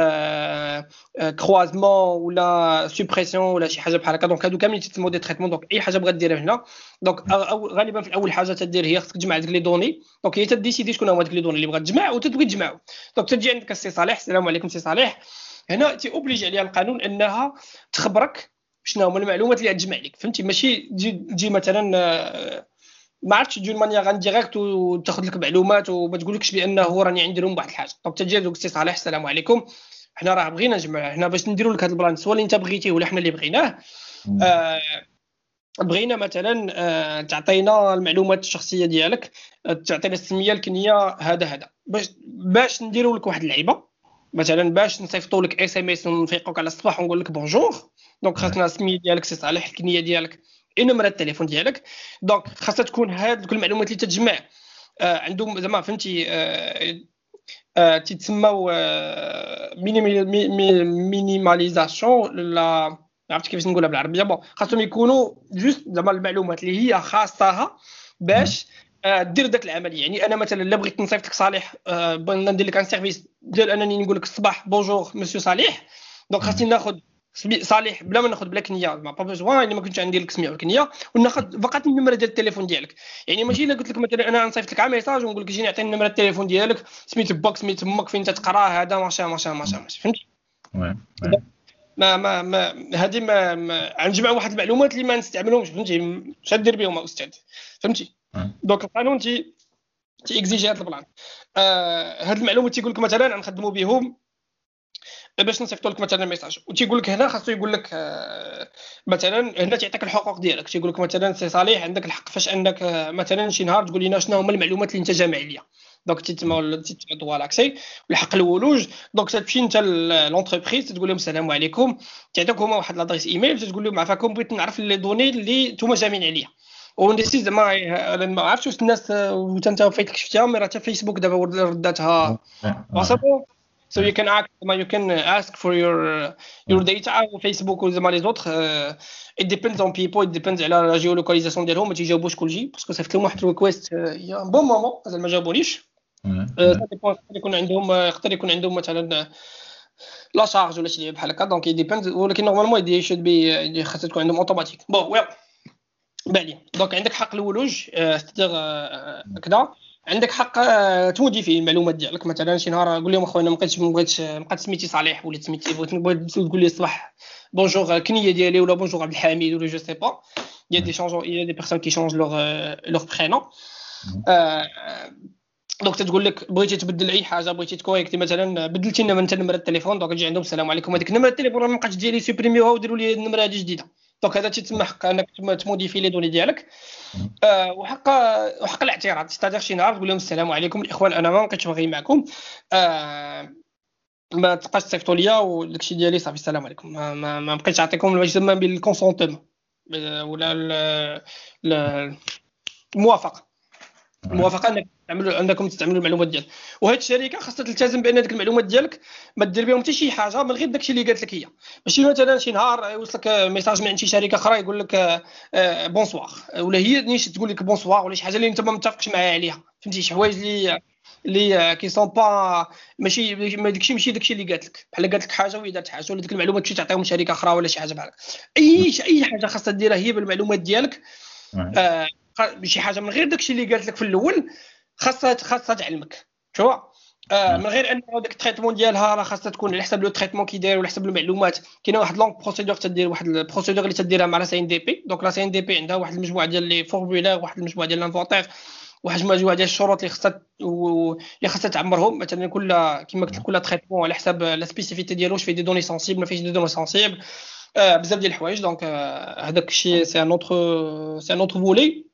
كروازمون ولا سوبريسيون ولا شي حاجه بحال هكا. دونك هادو كاملين تسموا دي تريتمون. دونك اي حاجه بغات ديرها هنا دونك غالبا في الاول حاجه تدير هي خصك تجمع هذيك لي دوني. دونك هي تديسيدي شكون هما هذوك لي دوني اللي بغات تجمع وتتبغي تجمعهم. دونك تجي عندك السي صالح السلام عليكم سي صالح هنا تي اوبليجي عليها القانون انها تخبرك شنو هما المعلومات اللي غتجمع لك. فهمتي ماشي تجي تجي مثلا ما عرفتش تجي مانيير ان ديريكت وتاخذ لك معلومات وما تقولكش بانه راني عندي لهم واحد الحاجه. دونك تجي دوك السي صالح السلام عليكم حنا راه بغينا نجمع حنا باش نديروا لك هذا البلان سواء اللي انت بغيتيه ولا حنا اللي بغيناه. آه بغينا مثلا آه تعطينا المعلومات الشخصيه ديالك تعطينا السميه الكنيه هذا هذا باش باش نديروا لك واحد اللعيبه مثلا باش نصيفطوا لك اس ام اس ونفيقوك على الصباح ونقول لك بونجور. دونك خاصنا السميه ديالك سي صالح الكنيه ديالك نمره التليفون ديالك. دونك خاصها تكون هاد المعلومات اللي تتجمع آه عندهم زعما فهمتي آه آه تتسموا آه مينيماليزاسيون لا عرفت كيفاش نقولها بالعربيه. بون خاصهم يكونوا جوست زعما المعلومات اللي هي خاصها باش آه دير داك العمليه. يعني انا مثلا الا بغيت نصيفط لك صالح آه بغيت ندير لك ان سيرفيس ديال انني نقول لك الصباح بونجور مسيو صالح. دونك خاصني ناخذ صالح بلا ما ناخذ بلا كنيه ما با بيزوان يعني ما كنتش عندي لك سميه والكنيه وناخذ فقط النمره ديال التليفون ديالك. يعني ماشي الا قلت لك مثلا انا نصيفط لك على ميساج ونقول لك جيني عطيني النمره التليفون ديالك سميت باك سميت امك فين تتقرا هذا ماشا ماشا ماشا ماشا فهمتي. ما ما ما هذه ما, ما غنجمع واحد المعلومات اللي ما نستعملهمش فهمتي. اش دير بهم استاذ فهمتي. دونك القانون تي تيكزيجي هذا البلان. آه هاد المعلومات تيقول لك مثلا نخدموا بهم باش نصيفطوا لك مثلا ميساج، وتيقول لك هنا خاصو يقول لك آه مثلا هنا تيعطيك الحقوق ديالك، تيقول لك مثلا سي صالح عندك الحق فاش انك آه مثلا شي نهار تقول لنا شنو هما المعلومات اللي انت جامع ليا، دونك تيتما تيتعطوا لاكسي والحق الولوج. دونك تمشي انت لونتربريز تقول لهم السلام عليكم، تعطيك هما واحد لادريس ايميل تقول لهم عفاكم بغيت نعرف لي دوني اللي نتوما جامعين عليا. ونسيت زعما ما عرفتش واش الناس وانت انت فايتك شفتيها مي راه حتى فيسبوك دابا رداتها وصافي. So you can ask, you can ask for your your data on Facebook ou زعما les autres. uh, it depends on people, it depends على la géolocalisation ديالهم. ما تيجاوبوش كلشي باسكو صيفط لهم واحد الريكويست يا بون مومون مازال ما جاوبونيش. يقدر يكون عندهم يقدر يكون عندهم مثلا لا شارج ولا شي بحال هكا، دونك ديبيند. ولكن نورمالمون يدي شود بي خاصها تكون عندهم اوتوماتيك. بون ويل بالي دونك عندك حق الولوج ستير كذا، عندك حق تموديفي المعلومات ديالك. مثلا شي نهار قول لهم اخويا ما بقيتش ما بغيتش بقات سميتي صالح وليت سميتي بغيت تقول لي الصباح بونجور كنيه ديالي ولا بونجور عبد الحميد ولا جو سي با. il y a des changements, il y a des personnes qui changent leur leur prénom. دونك تقول لك بغيتي تبدل اي حاجه، بغيتي تكونيكتي مثلا بدلتي لنا من نمره التليفون، دونك تجي عندهم السلام عليكم هذيك نمره التليفون ما بقاتش ديالي سوبريميوها وديروا لي النمره هذه جديده. دونك هذا تيتم حق انك تموديفي لي دوني ديالك. أه وحق وحق الاعتراض، ستادير شي نهار تقول لهم السلام عليكم الاخوان انا ما بقيتش باغي معكم، أه ما تبقاش تصيفطوا ليا وداكشي ديالي صافي السلام عليكم، ما, ما, ما بقيتش نعطيكم ما يسمى بالكونسونتمون ولا الموافقه الموافقه انك تعملوا انكم تستعملوا المعلومات ديالك. وهاد الشركه خاصها تلتزم بان ديك المعلومات ديالك ما دير بهم حتى شي حاجه من غير داكشي اللي قالت لك هي. ماشي مثلا شي نهار يوصلك ميساج من عند شي شركه اخرى يقول لك بونسوار ولا هي نيش تقول لك بونسوار ولا شي حاجه اللي انت ما متفقش معاها عليها، فهمتي شي حوايج اللي اللي كي سون با ماشي ما داكشي ماشي داكشي اللي قالت لك، بحال قالت لك حاجه وهي دارت حاجه ولا ديك المعلومات شي تعطيهم شركه اخرى ولا شي حاجه بحال اي اي حاجه خاصها ديرها هي بالمعلومات ديالك. آه شي حاجه من غير داكشي اللي قالت لك في الاول خاصها خاصها تعلمك شو آه من غير ان داك التريتمون ديالها راه خاصها تكون على حسب لو تريتمون كي داير وعلى حسب المعلومات. كاينه واحد لونغ بروسيدور تدير واحد البروسيدور اللي تديرها مع لا سي ان دي بي. دونك لا سي ان دي بي عندها واحد المجموعه ديال لي فورمولير، واحد المجموعه ديال لانفونتير، واحد المجموعه ديال الشروط اللي خاصها اللي خاصها تعمرهم. مثلا كل كما قلت كل تريتمون على حسب لا سبيسيفيتي ديالو، واش فيه دي دوني سنسيبل ما فيش دي دوني سنسيبل، آه بزاف ديال الحوايج. دونك هذاك الشيء سي ان اوتر سي ان اوتر فولي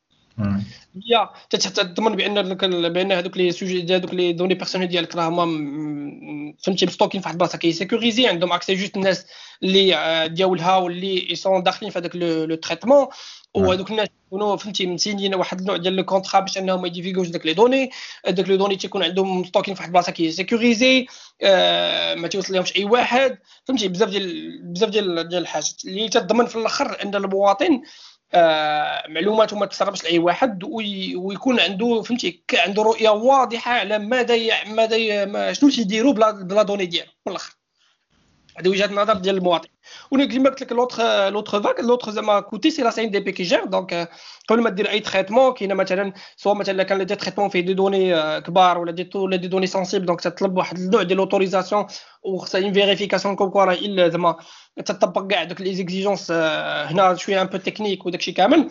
هي تضمن بان بان هذوك لي سوجي هذوك لي دوني بيرسونيل ديالك راه هما فهمتي مستوكين في واحد البلاصه كي سيكوريزي، عندهم اكسي جوست الناس اللي ديالها واللي يسون داخلين في هذاك لو تريتمون، وهذوك الناس يكونوا فهمتي مسينين واحد النوع ديال لو كونطرا باش انهم ما يديفيغوش داك لي دوني. داك لي دوني تيكون عندهم مستوكين في واحد البلاصه كي سيكوريزي، آه ما توصل لهمش اي واحد، فهمتي بزاف ديال بزاف ديال ديال الحاجات اللي تضمن في الاخر ان المواطن آه معلوماته ما تسربش لاي واحد ويكون عنده فهمتي عنده رؤيه واضحه على ماذا ماذا شنو تيديروا بلا بلا دوني ديالو من الاخر. هذه وجهه النظر ديال المواطن. وكما قلت لك لوطر لوطر فاك لوطر زعما كوتي سي لا سي ان دي بي كي جير. دونك قبل ما دير اي تريتمون كاينه مثلا سواء مثلا كان لي تريتمون فيه دي دوني كبار ولا دي ولا دي دوني سنسيبل، دونك تطلب واحد النوع ديال لوتوريزاسيون وخصها اون فيريفيكاسيون كوم كوا راه الا زعما تطبق كاع دوك لي زيكزيجونس هنا شويه ان بو تكنيك وداكشي كامل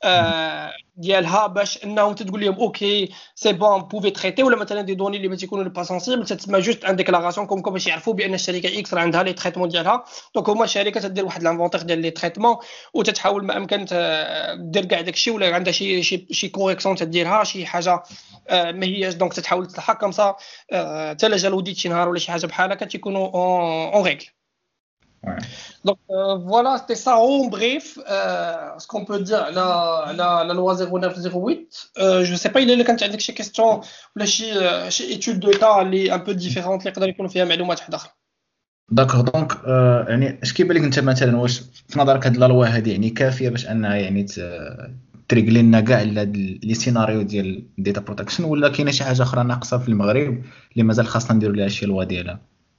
ديالها باش انهم تقول لهم اوكي سي بون بوفي تريتي. ولا مثلا دي دوني اللي ما تيكونوا با سنسيبل تسمى جوست ان ديكلاراسيون كوم كوا باش يعرفوا بان الشركه اكس راه عندها لي تريتمون ديالها. دونك هما الشركه تدير واحد لانفونتير ديال لي تريتمون وتتحاول ما امكن دير كاع داكشي ولا عندها شي شي شي كوريكسيون تديرها شي حاجه ما هياش، دونك تتحاول تصلحها كم صا حتى لا جا الوديت شي نهار ولا شي حاجه بحال هكا تيكونوا اون ريغل. Donc euh, voilà, c'était ça en bref euh, ce qu'on peut dire la la la loi zéro neuf zéro huit. Euh, je sais pas il est quand عندك شي question ولا شي شي étude de cas اللي un peu différente اللي يقدر يكون فيها معلومات واحده اخرى. داكوغ دونك euh, يعني اش كيبان لك انت مثلا واش في نظرك هاد لا لوا هذه يعني كافيه باش انها يعني تريغلي لنا كاع لي سيناريو ديال ديتا بروتكشن، ولا كاينه شي حاجه اخرى ناقصه في المغرب اللي مازال خاصنا نديروا ليها شي لوا ديالها؟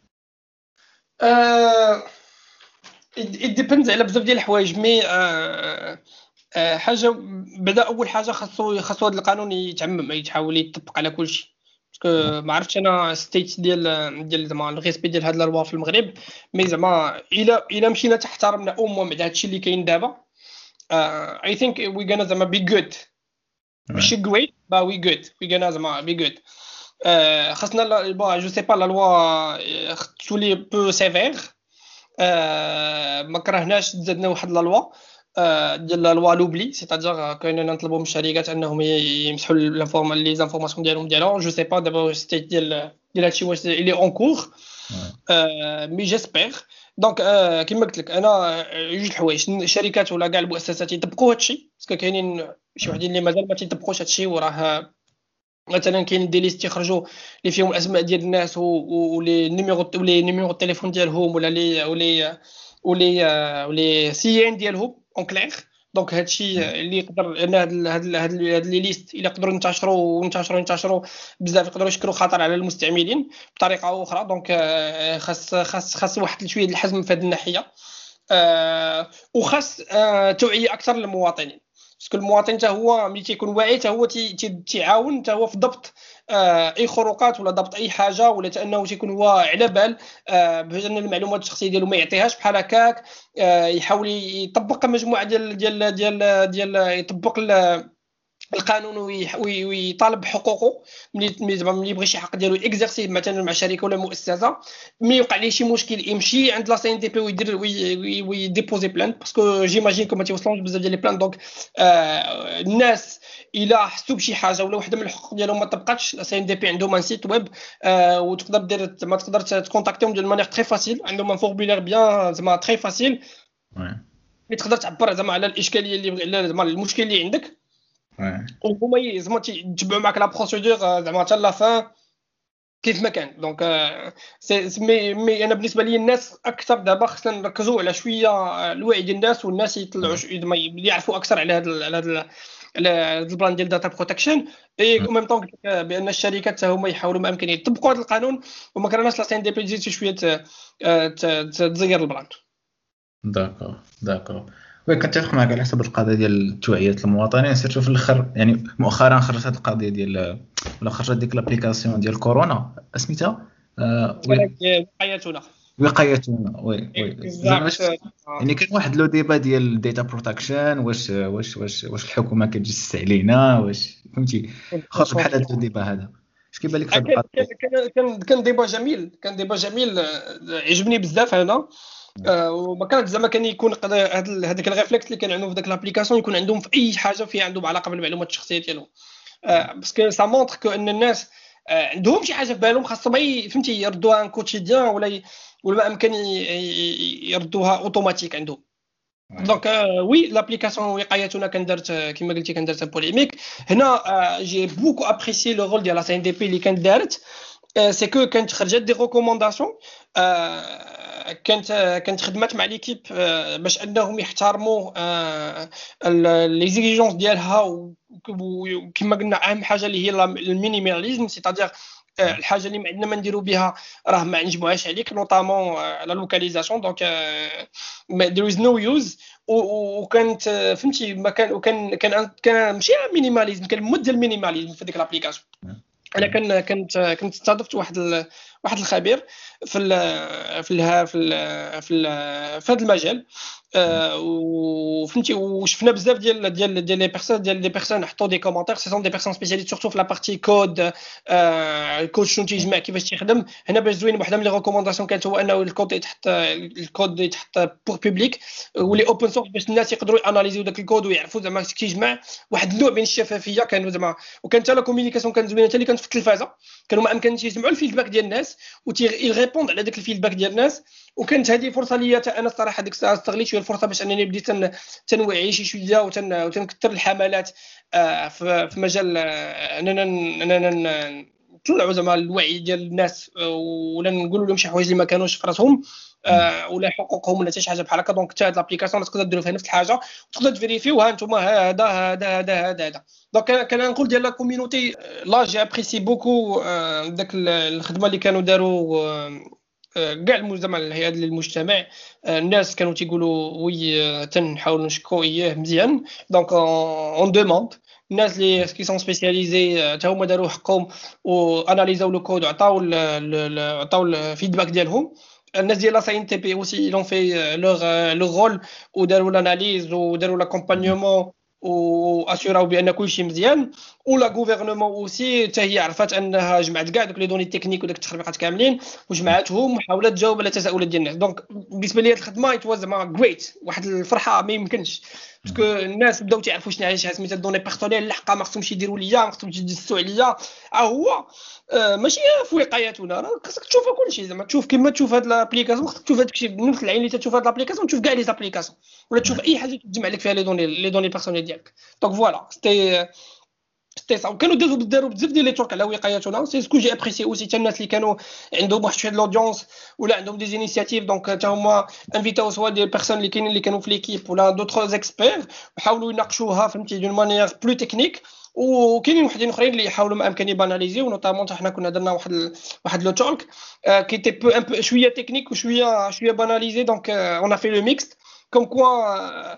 أه... it depends على بزاف ديال الحوايج مي أه... أه... حاجه بدا اول حاجه خاصو خاصو هذا القانون يتعمم يتحاول يطبق على كل شيء. باسكو ما عرفتش انا ستيت ديال ديال زعما الريسبي ديال هاد لا لوا في المغرب، مي زعما الا الا مشينا تحترمنا امم مع هادشي اللي كاين دابا اي ثينك وي غانا زعما بي جود ماشي great bah oui good oui gana زعما be good euh خاصنا لا- bon je sais pas la loi euh, تولي peu sévère آه، ما كرهناش تزادنا واحد لا لوا آه، ديال لا لوا لوبلي سيتادير كايننا نطلبوا من الشركات انهم ي- يمسحوا الانفورم لي زانفورماسيون ديالهم ديالهم جو سي با دابا ستيت ديال ديال هادشي واش اللي اون كور مي جيسبيغ دونك كيما قلت لك انا آه، جوج الحوايج الشركات ولا كاع المؤسسات يطبقوا هادشي باسكو كاينين شي وحدين اللي مازال ما تيطبقوش هادشي وراه مثلا كاين دي ليست يخرجوا اللي فيهم الاسماء ديال الناس ولي نيميرو ولي نيميرو التليفون ديالهم ولا لي ولي ولي ولي سي ان ديالهم اون كلير دونك هادشي اللي يقدر ان هاد ال- هاد ال- هاد ال- هاد لي ليست الا يقدروا ينتشروا وينتشروا ينتشروا بزاف يقدروا يشكلوا خطر على المستعملين بطريقه او اخرى دونك آه، خاص خاص خاص واحد شويه ديال الحزم في هذه الناحيه آه، وخاص آه، توعيه اكثر للمواطنين باسكو المواطن حتى هو ملي تيكون واعي حتى هو تي- تي- تيعاون حتى هو في ضبط آه، اي خروقات ولا ضبط اي حاجه ولا حتى انه تيكون هو على بال آه، باش ان المعلومات الشخصيه ديالو ما يعطيهاش بحال هكاك آه، يحاول يطبق مجموعه ديال ديال ديال ديال يطبق ال- القانون ويح- وي- ويطالب بحقوقه ملي ملي زعما ملي يبغي شي حق ديالو اكزerسي مثلا مع شركه ولا مؤسسه ملي يوقع ليه شي مشكل يمشي عند لا سي ان دي بي ويدير وي- وي- ويديبوزي بلان باسكو جيماجين كما تيوصلوش بزاف ديال لي بلان دونك آه الناس الا حسوا بشي حاجه ولا وحده من الحقوق ديالهم ما طبقاتش لا سي ان دي بي عندهم ان سيت ويب آه وتقدر دير ما تقدر تكونتاكتيهم ديال مانيير تري فاسيل عندهم ان فورمولير بيان زعما تري فاسيل وي اللي تقدر تعبر زعما على الاشكاليه اللي على زعما المشكل اللي عندك وي وهما ي- زعما تيتبعوا معك لا بروسيدور زعما حتى لا فان كيف ما كان دونك آه، سي سي- مي, مي انا بالنسبه لي الناس اكثر دابا خصنا نركزوا على شويه آه، الوعي ديال الناس والناس يطلعوا ش- زعما يعرفوا اكثر على هذا على هذا على هذا البلان ديال داتا بروتكشن اي او ميم طون بان الشركات حتى هما يحاولوا ما امكن يطبقوا هذا القانون وما كرهناش لا سي ان دي بي تزيد شي شويه ت- آه، ت- ت- تزير البلان داكور داكور وي كنتفق معك على حسب القضيه ديال توعيه المواطنين سيرتو في الاخر يعني مؤخرا خرجت هذه القضيه ديال ولا خرجت ديك لابليكاسيون ديال كورونا سميتها آه، وي- مثلا حياتنا وقايتنا وي وي زعما اكزاكت شفت يعني كان واحد لو ديبا ديال الداتا بروتكشن واش واش واش واش الحكومه كتجسس علينا واش فهمتي خرج بحال هذا الديبا هذا اش كيبان لك في هذه كان القضيه كان كان كان ديبا جميل كان ديبا جميل آه، عجبني بزاف انا آه، وما كانت زعما كان يكون قد- هاد ال- هذاك الريفلكس اللي كان عندهم في ذاك لابليكاسيون يكون عندهم في اي حاجه فيها عندهم علاقه بالمعلومات الشخصيه ديالهم آه، باسكو سا مونتر كو ان الناس آه، عندهم شي حاجه في بالهم خاصهم ي- فهمتي يردوها ان كوتيديان ولا ي- ولا ما امكن ي- ي- يردوها اوتوماتيك عندهم دونك وي لابليكاسيون وقايتنا كان دارت آه، كما قلتي كان دارت بوليميك هنا جي بوكو ابريسي لو رول ديال لا سي ان دي بي اللي كانت دارت سي كو كانت خرجت دي ريكومونداسيون كانت كانت خدمات مع ليكيب باش انهم يحترموا لي زيجيجونس ديالها وكما قلنا اهم حاجه اللي هي المينيماليزم سيتادير الحاجه اللي ما عندنا ما نديرو بها راه ما نجمعوهاش عليك نوطامون لا لوكاليزاسيون دونك there is no use وكانت فهمتي ما كان وكان كان كان ماشي مينيماليزم كان مود ديال المينيماليزم في ديك لابليكاسيون انا كان كنت كنت استضفت واحد ال... واحد الخبير في ال... في ال... في ال... في ال... في هذا المجال آه، وفهمتي وشفنا بزاف ديال ديال ديال لي بيرسون ديال لي بيرسون حطوا دي كومونتير سي سون دي بيرسون سبيسياليست سورتو في لا بارتي كود الكود شنو تيجمع كيفاش تيخدم هنا باش زوين وحده من لي ريكومونداسيون كانت هو انه الكود يتحط الكود يتحط بور بوبليك ولي اوبن سورس باش الناس يقدروا اناليزيو داك الكود ويعرفوا زعما كيجمع واحد النوع من الشفافيه كانوا زعما وكانت حتى لا كومونيكاسيون كانت زوينه حتى اللي كانت في التلفازه كانوا ما امكنش يسمعوا الفيدباك ديال الناس ويريبوند على داك الفيدباك ديال الناس وكانت هذه فرصه ليا انا الصراحه ديك الساعه استغليت شويه الفرصه باش انني بديت تنوعي شي شويه وتنكثر الحملات في مجال اننا اننا نطلعوا زعما الوعي ديال الناس ولا نقولوا لهم شي حوايج اللي ما كانوش في راسهم ولا حقوقهم ولا حتى شي حاجه بحال هكا دونك حتى هاد لابليكاسيون تقدر ديروا فيها نفس الحاجه وتقدر تفيريفيو ها انتم هذا هذا هذا هذا هذا دونك كان نقول ديال لا كوميونيتي لا جي ابريسي بوكو داك الخدمه اللي كانوا داروا كاع المجتمع الهيئات للمجتمع الناس كانوا تيقولوا وي تنحاولوا نشكوا اياه مزيان دونك اون دوموند الناس اللي كي سون سبيسياليزي حتى هما داروا حقهم واناليزاو لو كود وعطاو عطاو الفيدباك ديالهم الناس ديال لا سي ان تي بي اوسي لون في لوغ لو رول وداروا لاناليز وداروا لاكومبانيومون واسيراو بان كل شيء مزيان. ولا غوفرنمون اوسي حتى هي عرفت انها جمعت كاع دوك لي دوني تكنيك وداك التخربيقات كاملين وجمعتهم وحاولت تجاوب على تساؤلات ديال الناس. دونك بالنسبه لي هاد الخدمه ايت واز ما غريت، واحد الفرحه ما يمكنش، باسكو الناس بداو تعرفوا شنو هي سميتها الدوني بيرسونيل الحقا ما خصهمش يديروا ليا، ما خصهمش يدسوا عليا. ها هو آه ماشي في وقايتنا، راه خصك تشوف كلشي زعما تشوف كيما تشوف هاد لابليكاسيون، خصك تشوف هادشي بنفس العين اللي تشوف هاد لابليكاسيون تشوف كاع لي زابليكاسيون ولا تشوف اي حاجه تجمع لك فيها لي دوني لي دوني بيرسونيل ديالك. دونك فوالا سيتي سيتي صا. وكانوا دازوا داروا بزاف ديال لي تورك على وقايتنا، سي سكو جي ابريسي اوسي حتى الناس اللي كانوا عندهم واحد شويه د لودونس ولا عندهم دي انيشياتيف، دونك حتى هما انفيتاو سوا ديال بيرسون اللي كاينين اللي كانوا في ليكيب ولا دوطخ اكسبير وحاولوا يناقشوها فهمتي دون مانيير بلو تكنيك. وكاينين وحدين اخرين اللي يحاولوا ما امكن يباناليزيو، نوطامون حنا كنا درنا واحد ال... واحد لو تورك كي تي بو ان بو شويه تكنيك وشويه شويه باناليزي. دونك اون ا في لو ميكس كوم كوا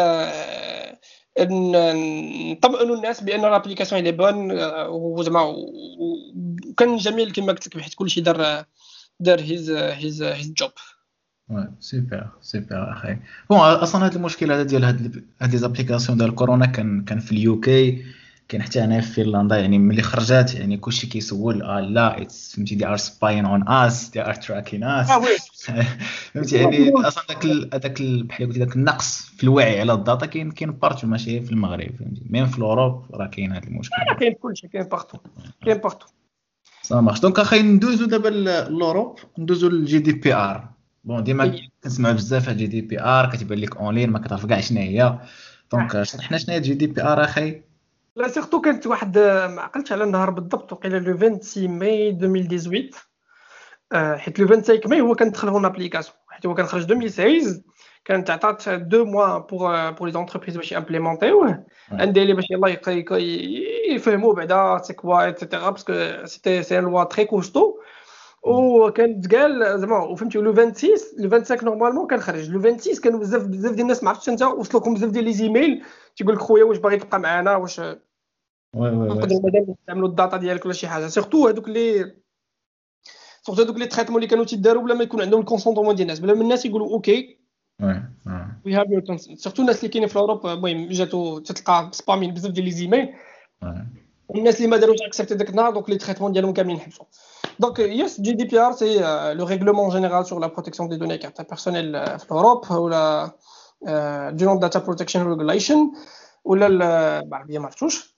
نطمئنوا الناس بان الابليكاسيون اللي بون وزعما وكان جميل كما قلت لك حيت كلشي دار دار هيز هيز هيز جوب. سوبر سوبر اخي. بون اصلا هذا المشكل هذا ديال هاد هاد لي زابليكاسيون ديال كورونا كان كان في اليو كي، كاين حتى هنا في فنلندا. يعني ملي خرجت يعني كلشي كيسول اه لا فهمتي دي ار سباين اون اس دي ار تراكين اس اه وي فهمتي. يعني اصلا داك داك بحال قلتي داك النقص في الوعي على الداتا كاين كاين بارتو، ماشي في المغرب فهمتي، ميم في اوروب راه كاين هذا المشكل. كاين كلشي كاين بارتو كاين بارتو. صا مارش. دونك اخي ندوزو دابا لوروب، ندوزو للجي دي بي ار. بون ديما كنسمع بزاف على جي دي بي ار، كتبان لك اونلاين ما كتعرف كاع شنو هي. دونك شرحنا شنو هي جي دي بي ار اخي. لا سيرتو كانت واحد ما عقلتش على النهار بالضبط، وقيله لو ستة ماي ألفين وثمانية عشر آه حيت لو خمسة وعشرين ماي هو كان دخل هون ابليكاسيون، حيت هو كان خرج ألفين وستة عشر كانت عطات دو موا بور بور لي زونتربريز باش امبليمونطيوه عندي لي باش يلاه يفهموا بعدا سي كوا ايتترا، باسكو سيتي سي لوا تري كوستو. وكان قال زعما وفهمتي لو ستة وعشرين لو خمسة وعشرين نورمالمون كان خرج لو ستة وعشرين كانوا بزاف بزاف ديال الناس ما عرفتش انت وصلوكم بزاف ديال لي زيميل تيقول لك خويا واش باغي تبقى معنا، واش وي وي وي نقدروا مادام نستعملوا الداتا ديالك ولا شي حاجه. سيرتو هذوك اللي سورتو هذوك لي تريتمون اللي كانوا تيداروا بلا ما يكون عندهم الكونسونطمون ديال الناس، بلا ما الناس يقولوا اوكي وي وي هاف يور كونسنت. سيرتو الناس اللي كاينين في اوروب المهم جاتو تلقى سبامين بزاف ديال لي زيميل، الناس اللي ما داروش اكسبتي داك النهار دونك لي تريتمون ديالهم كاملين حبسوا. دونك يس جي دي بي ار سي لو ريغلومون جينيرال سور لا بروتيكسيون دي دوني كارت بيرسونيل في اوروب، ولا جينيرال داتا بروتكشن ريغوليشن ولا بالعربيه ما عرفتوش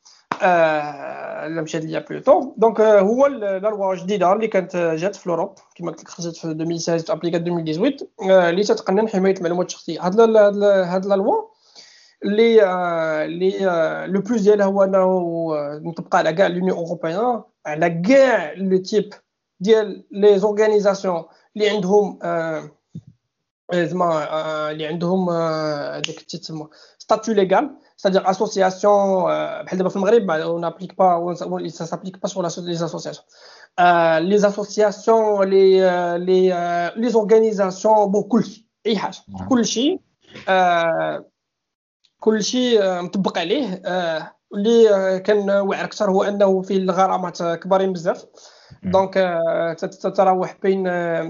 لا مشات ليا بلوتو. دونك هو لا لوا جديده اللي كانت جات في اوروب كما قلت لك خرجت في ألفين وستة عشر ابليكات ألفين وثمانية عشر اللي تتقنن حمايه المعلومات الشخصيه. هاد هاد لا لوا اللي اللي لو بلوس ديالها هو انه نطبق على كاع لونيون اوروبيان، على كاع لو تيب ديال لي زورغانيزاسيون اللي عندهم زعما اللي عندهم داك تيتسمى ستاتيو ليغال، c'est-à-dire association بحال دابا في المغرب on n'applique pas on ça s'applique pas sur les associations euh, les associations les les les organisations bon كلشي اي حاجه كلشي كلشي مطبق عليه. اللي كان واعر اكثر هو انه فيه الغرامات كبارين بزاف، دونك تتراوح بين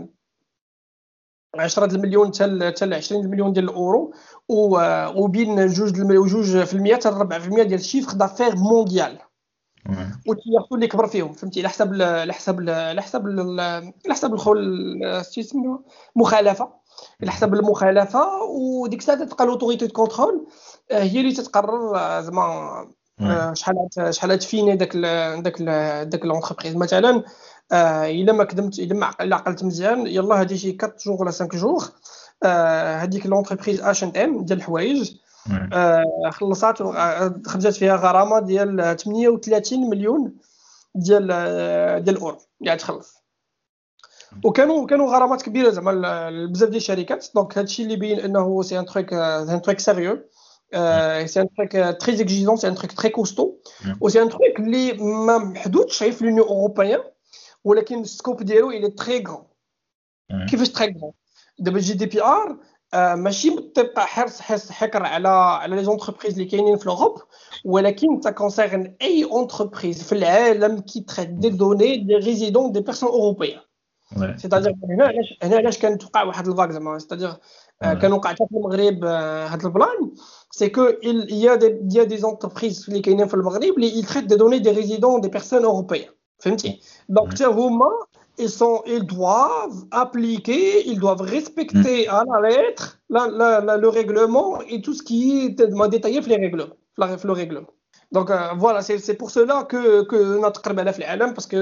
عشرة المليون حتى عشرين المليون ديال الاورو، وبين جوج جوج في المية حتى أربعة في المية ديال الشيفر دافير مونديال، وتياخذوا اللي كبر فيهم فهمتي على حسب على حسب على حسب على حسب الخول سيسمو مخالفه على حسب المخالفه. وديك الساعه تبقى لوتوريتي دو كونترول هي اللي تتقرر زعما شحال شحال تفيني داك داك داك لونتربريز. مثلا الا ما كدمت الا ما عقلت مزيان يلا هادي شي أربعة جوغ ولا خمسة جوغ هذيك لونتربريز اش اند ام ديال الحوايج خلصات خرجت فيها غرامه ديال ثمانية وثلاثين مليون ديال ديال الاورو اللي تخلص، وكانوا كانوا غرامات كبيره زعما بزاف ديال الشركات. دونك هادشي اللي بين انه سي ان تروك سي ان تروك سيريو سي ان تروك تري اكزيجون سي ان تروك تري كوستو وسي ان تروك اللي ما محدودش في لونيون اوروبيان، ولكن السكوب ديالو الى تري غران. كيفاش تري غران؟ دابا جي دي بي ار ماشي تبقى حرص حرص حكر على على لي زونتربريز اللي كاينين في اوروب، ولكن تا كونسيرن اي اونتربريز في العالم كي تريت دي دوني دي ريزيدون دي بيرسون اوروبيان. Ouais. سيتادير هنا علاش هنا علاش كان توقع واحد الفاك زعما سيتادير Ouais. كان وقع حتى في المغرب آه، هاد البلان سي كو il y a des il y a des entreprises اللي كاينين في المغرب اللي ils traitent des données des résidents des personnes européennes فهمتي دونك Ouais. حتى هما ils sont ils doivent appliquer ils doivent respecter à la lettre la, la, la, le règlement et tout ce qui est détaillé في les règlements في la- في le règlement. Donc euh, voilà, c'est c'est pour cela que que نتقرب على في العالم parce que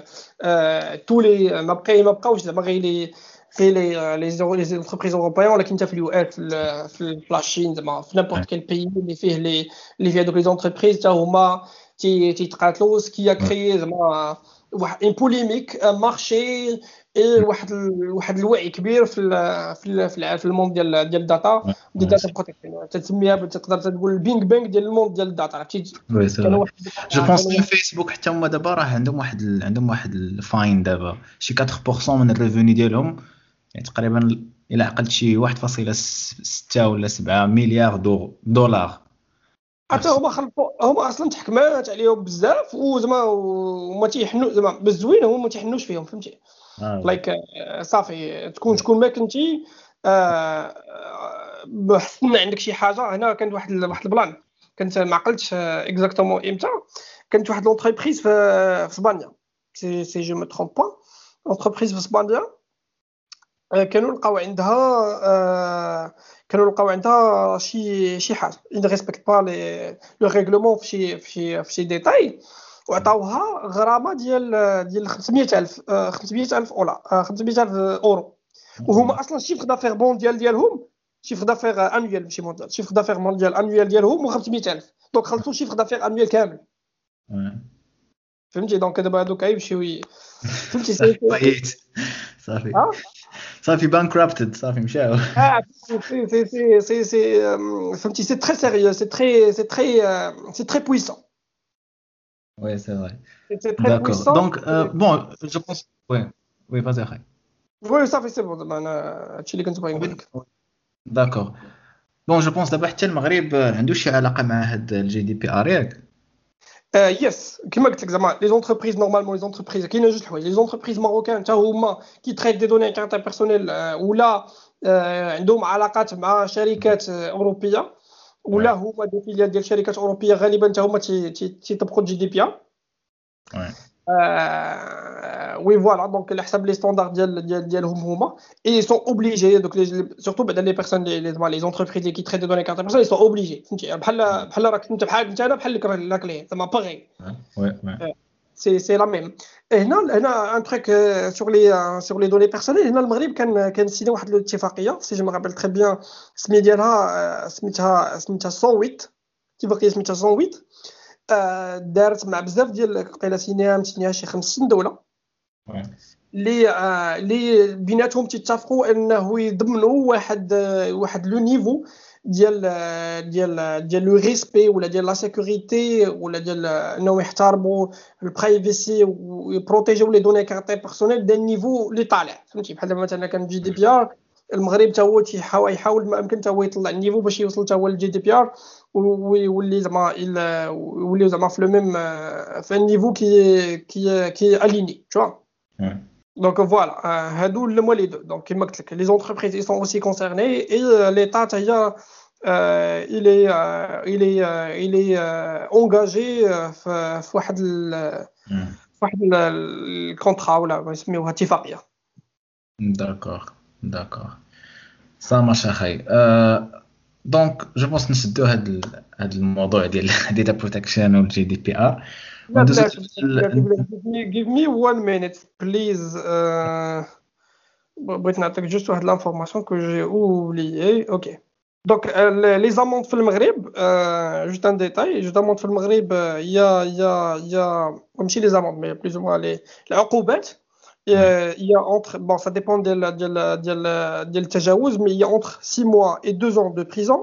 euh, tous les ما بقى ما بقاوش زعما غير les غير les les les entreprises européennes ولكن حتى في اليو اس في ال- في في لاشين زعما في n'importe quel pays اللي فيه les اللي فيه دوك les entreprises حتى هما تي تيتقاتلوا ce qui a créé زعما واحد une polémique un marché et واحد ال- واحد الوعي كبير في ال في ال في ال- في الموند ديال ديال الداتا Ouais. ديال Ouais, الداتا بروتيكشن تسميها تقدر تقول البينغ بانغ ديال الموند ديال الداتا عرفتي وي سي كان فري. واحد جو كان بونس واحد فيسبوك حتى هما دابا راه عندهم واحد ال... عندهم واحد الفاين دابا شي أربعة بالمية من الريفوني ديالهم، يعني تقريبا الى عقلت شي واحد فاصلة ستة ولا سبعة مليار دو دولار. حتى هما خلطوا هما اصلا تحكمات عليهم بزاف وزعما وما تيحنوا زعما بالزوين هما ما تيحنوش فيهم فهمتي آه. لايك صافي تكون شكون ما كنتي آه، بحسن عندك شي حاجه. هنا كانت واحد ال- واحد البلان كنت ما عقلتش اكزاكتومون امتى كانت واحد لونتربريز في في اسبانيا سي سي جو مي ترومب با لونتربريز في اسبانيا آه، كانوا لقاو عندها آه، كانوا لقاو عندها شي شي حاجه ان ريسبكت با لي لو ريغلومون في شي في شي في شي ديتاي وعطاوها غرامه ديال ديال خمسمية ألف آه، خمسمية ألف اولا آه، خمسمية ألف اورو وهما اصلا الشيفر دافير مونديال ديالهم شيفر دافير انويل ماشي مونديال شيفر دافير مونديال انويل ديالهم خمسمية ألف دونك خلصوا شيفر دافير انويل كامل Ouais. فهمتي دونك دابا هادوك يمشيو ي- فهمتي سي صافي بايت صافي ها صافي بانكرابتد صافي مشاو. Ah, c'est, c'est, c'est, c'est, c'est, euh, فهمتي c'est très sérieux, c'est très, c'est très, euh, c'est très puissant. وي سي فري. C'est c'est très داكور puissant. دونك بون جو بونس وي وي فازي اخي. Oui, ça fait c'est bon. زعما انا هادشي اللي كنت باغي نقول لك. داكور بون جو بونس دابا حتى المغرب عنده شي علاقه مع هاد الجي دي بي ار ياك؟ يس كما قلت لك زعما لي زونتربريز نورمالمون لي زونتربريز كاينه جوج حوايج لي زونتربريز ماروكان حتى هما كي تريت دي دوني كارتا بيرسونيل ولا آه، عندهم علاقات مع شركات آه، اوروبيه ولا هما دي فيليال ديال شركات اوروبيه غالبا حتى هما تي- تي- تيطبقوا الجي دي بي ار. وي وي فوالا دونك على حسب لي ستاندار ديال ديال ديالهم هما اي سون اوبليجي دوك سورتو بعدا لي بيرسون لي زعما لي زونتربريز اللي كيتريتي دوني كارت بيرسون سون اوبليجي فهمتي بحال بحال راك انت بحال انت انا بحال لك راك ليه زعما باغي وي وي سي سي لا ميم. هنا هنا ان تروك سور لي سور لي دوني بيرسونيل هنا المغرب كان كان سيني واحد الاتفاقيه سي جو مابيل تري بيان سمي ديالها سميتها سميتها مية وثمانية اتفاقيه سميتها مية وثمانية آه، دارت مع بزاف ديال قيله سينيها مسينيها شي خمسين دوله وي اللي آه، اللي بيناتهم تتفقوا انه يضمنوا واحد آه، واحد لو نيفو ديال آه، ديال ديال لو ريسبي ولا ديال لا سيكوريتي ولا ديال آه، انه يحترموا البرايفسي ويبروتيجيو لي دوني كارتي بيرسونيل ديال النيفو اللي طالع فهمتي بحال دابا مثلا كان جي دي بي ار المغرب حتى هو تيحاول يحاول ما امكن حتى هو يطلع النيفو باش يوصل حتى هو للجي دي بي ار ويولي زعما يولي زعما في لو ميم في النيفو كي كي كي اليني tu vois. Donc voilà, euh, هادو هما لي دو دونك كيما قلت لك لي زونتربريز اي سون اوسي كونسيرني اي ليتا حتى هي il est euh, il est euh, il est euh, engagé euh, في في واحد ال في واحد الكونترا ولا يسميوها اتفاقيه. داكور داكور سا ماشي اخي. أه دونك جو بونس نشدو هاد ال... هاد الموضوع ديال ديتا بروتكشن والجي دي بي ار. لا بلاش give me give me one minute please. euh, بغيت نعطيك جوست واحد لانفورماسيون كو جي اوبليي. اوكي دونك لي زاموند في المغرب جوست ان ديتاي جوست زاموند في المغرب يا يا يا ماشي لي زاموند مي بلوز او لي العقوبات يا اونتر بون سا ديبون ديال ديال ديال ديال التجاوز مي يا اونتر six mois et deux ans de prison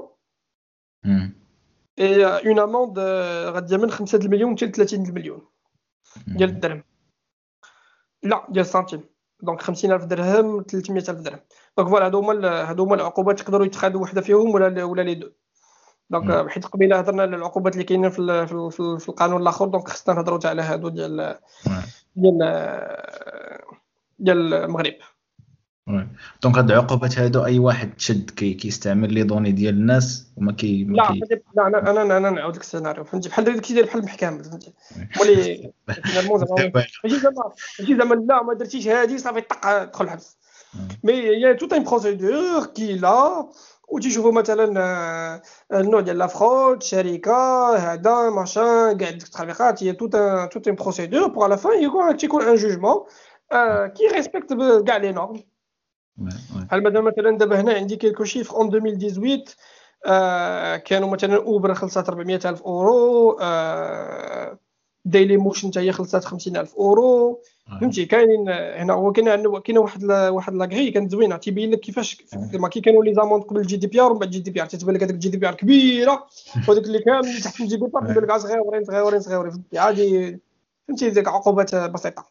et une amende غادي من خمسة المليون حتى ثلاثين المليون ديال الدرهم لا ديال السنتيم دونك خمسين ألف درهم ثلاثمية ألف درهم. دونك فوالا هادو هما هادو هما العقوبات يقدروا يتخادوا وحده فيهم ولا ولا لي دو. دونك حيت قبيله هضرنا على العقوبات اللي كاينين في في, في القانون الاخر دونك خصنا نهضروا على هادو ديال ديال ديال المغرب. وي دونك هاد العقوبات هادو اي واحد تشد كي كيستعمل لي دوني ديال الناس وما كي ما لا كي لا انا انا انا نعاود لك السيناريو فهمتي بحال داك الشيء بحال المحكمه فهمتي مولي فينالمون زعما ماشي زعما ماشي زعما لا ما درتيش هادي صافي طق تدخل الحبس مي يا توت ان بروسيدور كي لا وتيشوفوا مثلا آه، النوع ديال لا فرود شركه هذا ماشان كاع ديك التخليقات هي توت ان توت ان بروسيدور بوغ لا فان يكون تيكون ان جوجمون كي ريسبكت كاع لي نورم. بحال مثلا مثلا دابا هنا عندي كيلكو شيفر اون ألفين وثمانية عشر آه كانوا مثلا اوبر خلصات أربعمية ألف اورو آه ديلي موشن حتى هي خلصات خمسين ألف اورو فهمتي كاينين هنا هو كاين عندنا كاينه واحد لا واحد لاكري كانت زوينه تيبين لك كيفاش زعما كي كانوا لي زاموند قبل الجي دي بي ار ومن بعد الجي دي بي ار تتبان لك هذاك الجي دي بي ار كبيره وداك اللي كامل اللي تحت الجي دي بي ار تبان لك صغيورين صغيورين صغيورين فهمتي عادي فهمتي ديك عقوبات بسيطه.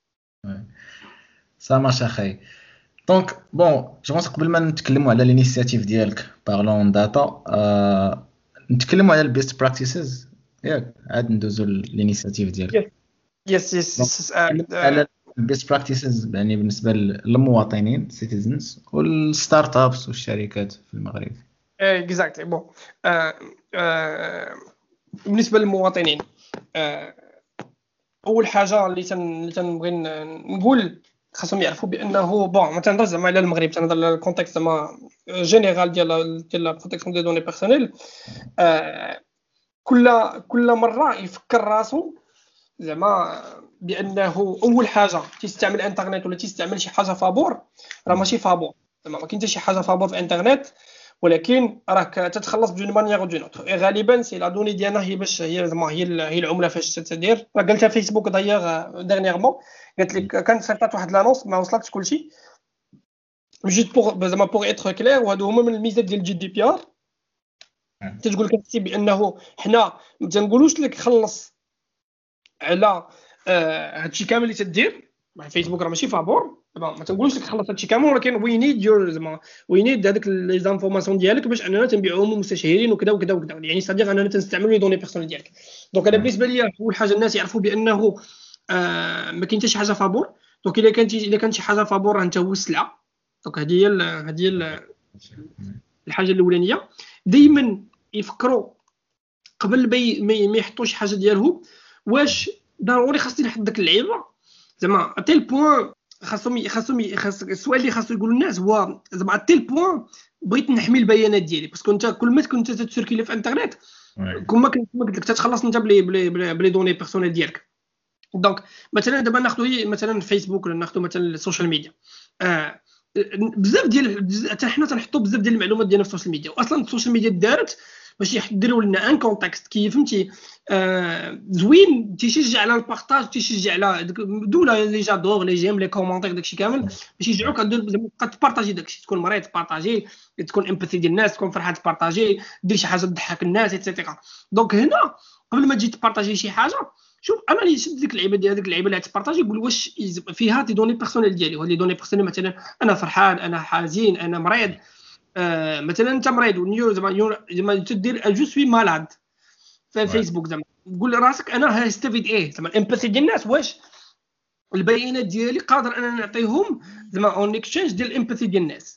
سا مارش اخاي دونك بون جو بونس قبل ما نتكلموا على الانيشيتيف ديالك بارلون داتا آه نتكلموا على البيست براكتيسز ياك عاد ندوزو للانيشيتيف ديالك. يس يس يس على البيست براكتيسز يعني بالنسبه للمواطنين سيتيزنز والستارت ابس والشركات في المغرب. اكزاكتلي بون بالنسبه للمواطنين اول حاجه اللي تن تنبغي نقول خاصهم يعرفوا بانه بون ما تنهضرش زعما على المغرب تنهضر على الكونتكست زعما جينيرال ديال ديال لا بروتيكسيون دي دوني بيرسونيل. كل كل مره يفكر راسو زعما بانه اول حاجه تيستعمل انترنت ولا تيستعمل شي حاجه فابور راه ماشي فابور زعما ما كاين حتى شي حاجه فابور في انترنت ولكن راك تتخلص بدون مانيير او دون اوتر غالبا سي لا دوني ديالنا هي باش هي زعما هي هي العمله فاش تدير راه قالتها فيسبوك دايوغ ديرنييرمون قالت لك كانت سرطات واحد لانونس ما وصلتش كلشي جيت بوغ زعما بوغ اتر كلير وهادو هما من الميزات ديال الجي دي بي ار تتقول كتسي بانه حنا ما تنقولوش لك خلص على هادشي كامل اللي تدير مع فيسبوك راه ماشي فابور ما تنقولوش لك خلص هادشي كامل ولكن وي نيد يور زعما وي نيد هذاك لي زانفورماسيون ديالك باش اننا تنبيعوهم مستشهرين وكذا وكذا وكذا يعني صديق اننا تنستعملوا لي دوني بيرسونيل ديالك. دونك انا بالنسبه ليا اول حاجه الناس يعرفوا بانه آه ما كاين حتى شي حاجه فابور. دونك الا كانت الا كانت شي حاجه فابور انت هو السلعه. دونك هذه هي هذه هي الحاجه الاولانيه. دائما يفكروا قبل ما يحطوا شي حاجه ديالهم واش ضروري خاصني نحط داك اللعيبه زعما اتيل بوين خاصهم خاصهم خاص السؤال اللي خاصو يقولوا الناس هو زعما اتيل بوين بغيت نحمي البيانات ديالي باسكو انت كل ما كنت تسيركيلي في الانترنت كل ما كنت قلت لك تتخلص انت بلي بلي بلي دوني بيرسونيل ديالك. دونك مثلا دابا ناخذوا مثلا فيسبوك ولا ناخذوا مثلا السوشيال ميديا آه بزاف ديال حتى حنا تنحطوا بزاف ديال المعلومات ديالنا في السوشيال ميديا واصلا السوشيال ميديا دارت باش يحضروا لنا ان كونتكست كي فهمتي آه زوين تيشجع على البارطاج تيشجع على دوله لي جادور لي جيم لي كومونتير داكشي كامل باش يشجعوك زعما تبارطاجي داكشي تكون مريض تبارطاجي تكون امباثي ديال الناس تكون فرحان تبارطاجي دير شي حاجه تضحك الناس ايتترا. دونك هنا قبل ما تجي تبارطاجي شي حاجه شوف انا اللي شد ديك اللعيبه ديال هذيك اللعيبه اللي تبارطاجي يقول واش فيها دي دوني بيرسونيل ديالي ولا دوني بيرسونيل مثلا انا فرحان انا حزين انا مريض آه مثلا انت مريض ونيو زعما زعما تدير جو سوي مالاد في فيسبوك زعما تقول راسك انا هستفيد ايه زعما الامباثي ديال الناس واش البيانات ديالي قادر انا نعطيهم زعما اون اكسشينج ديال الامباثي ديال الناس.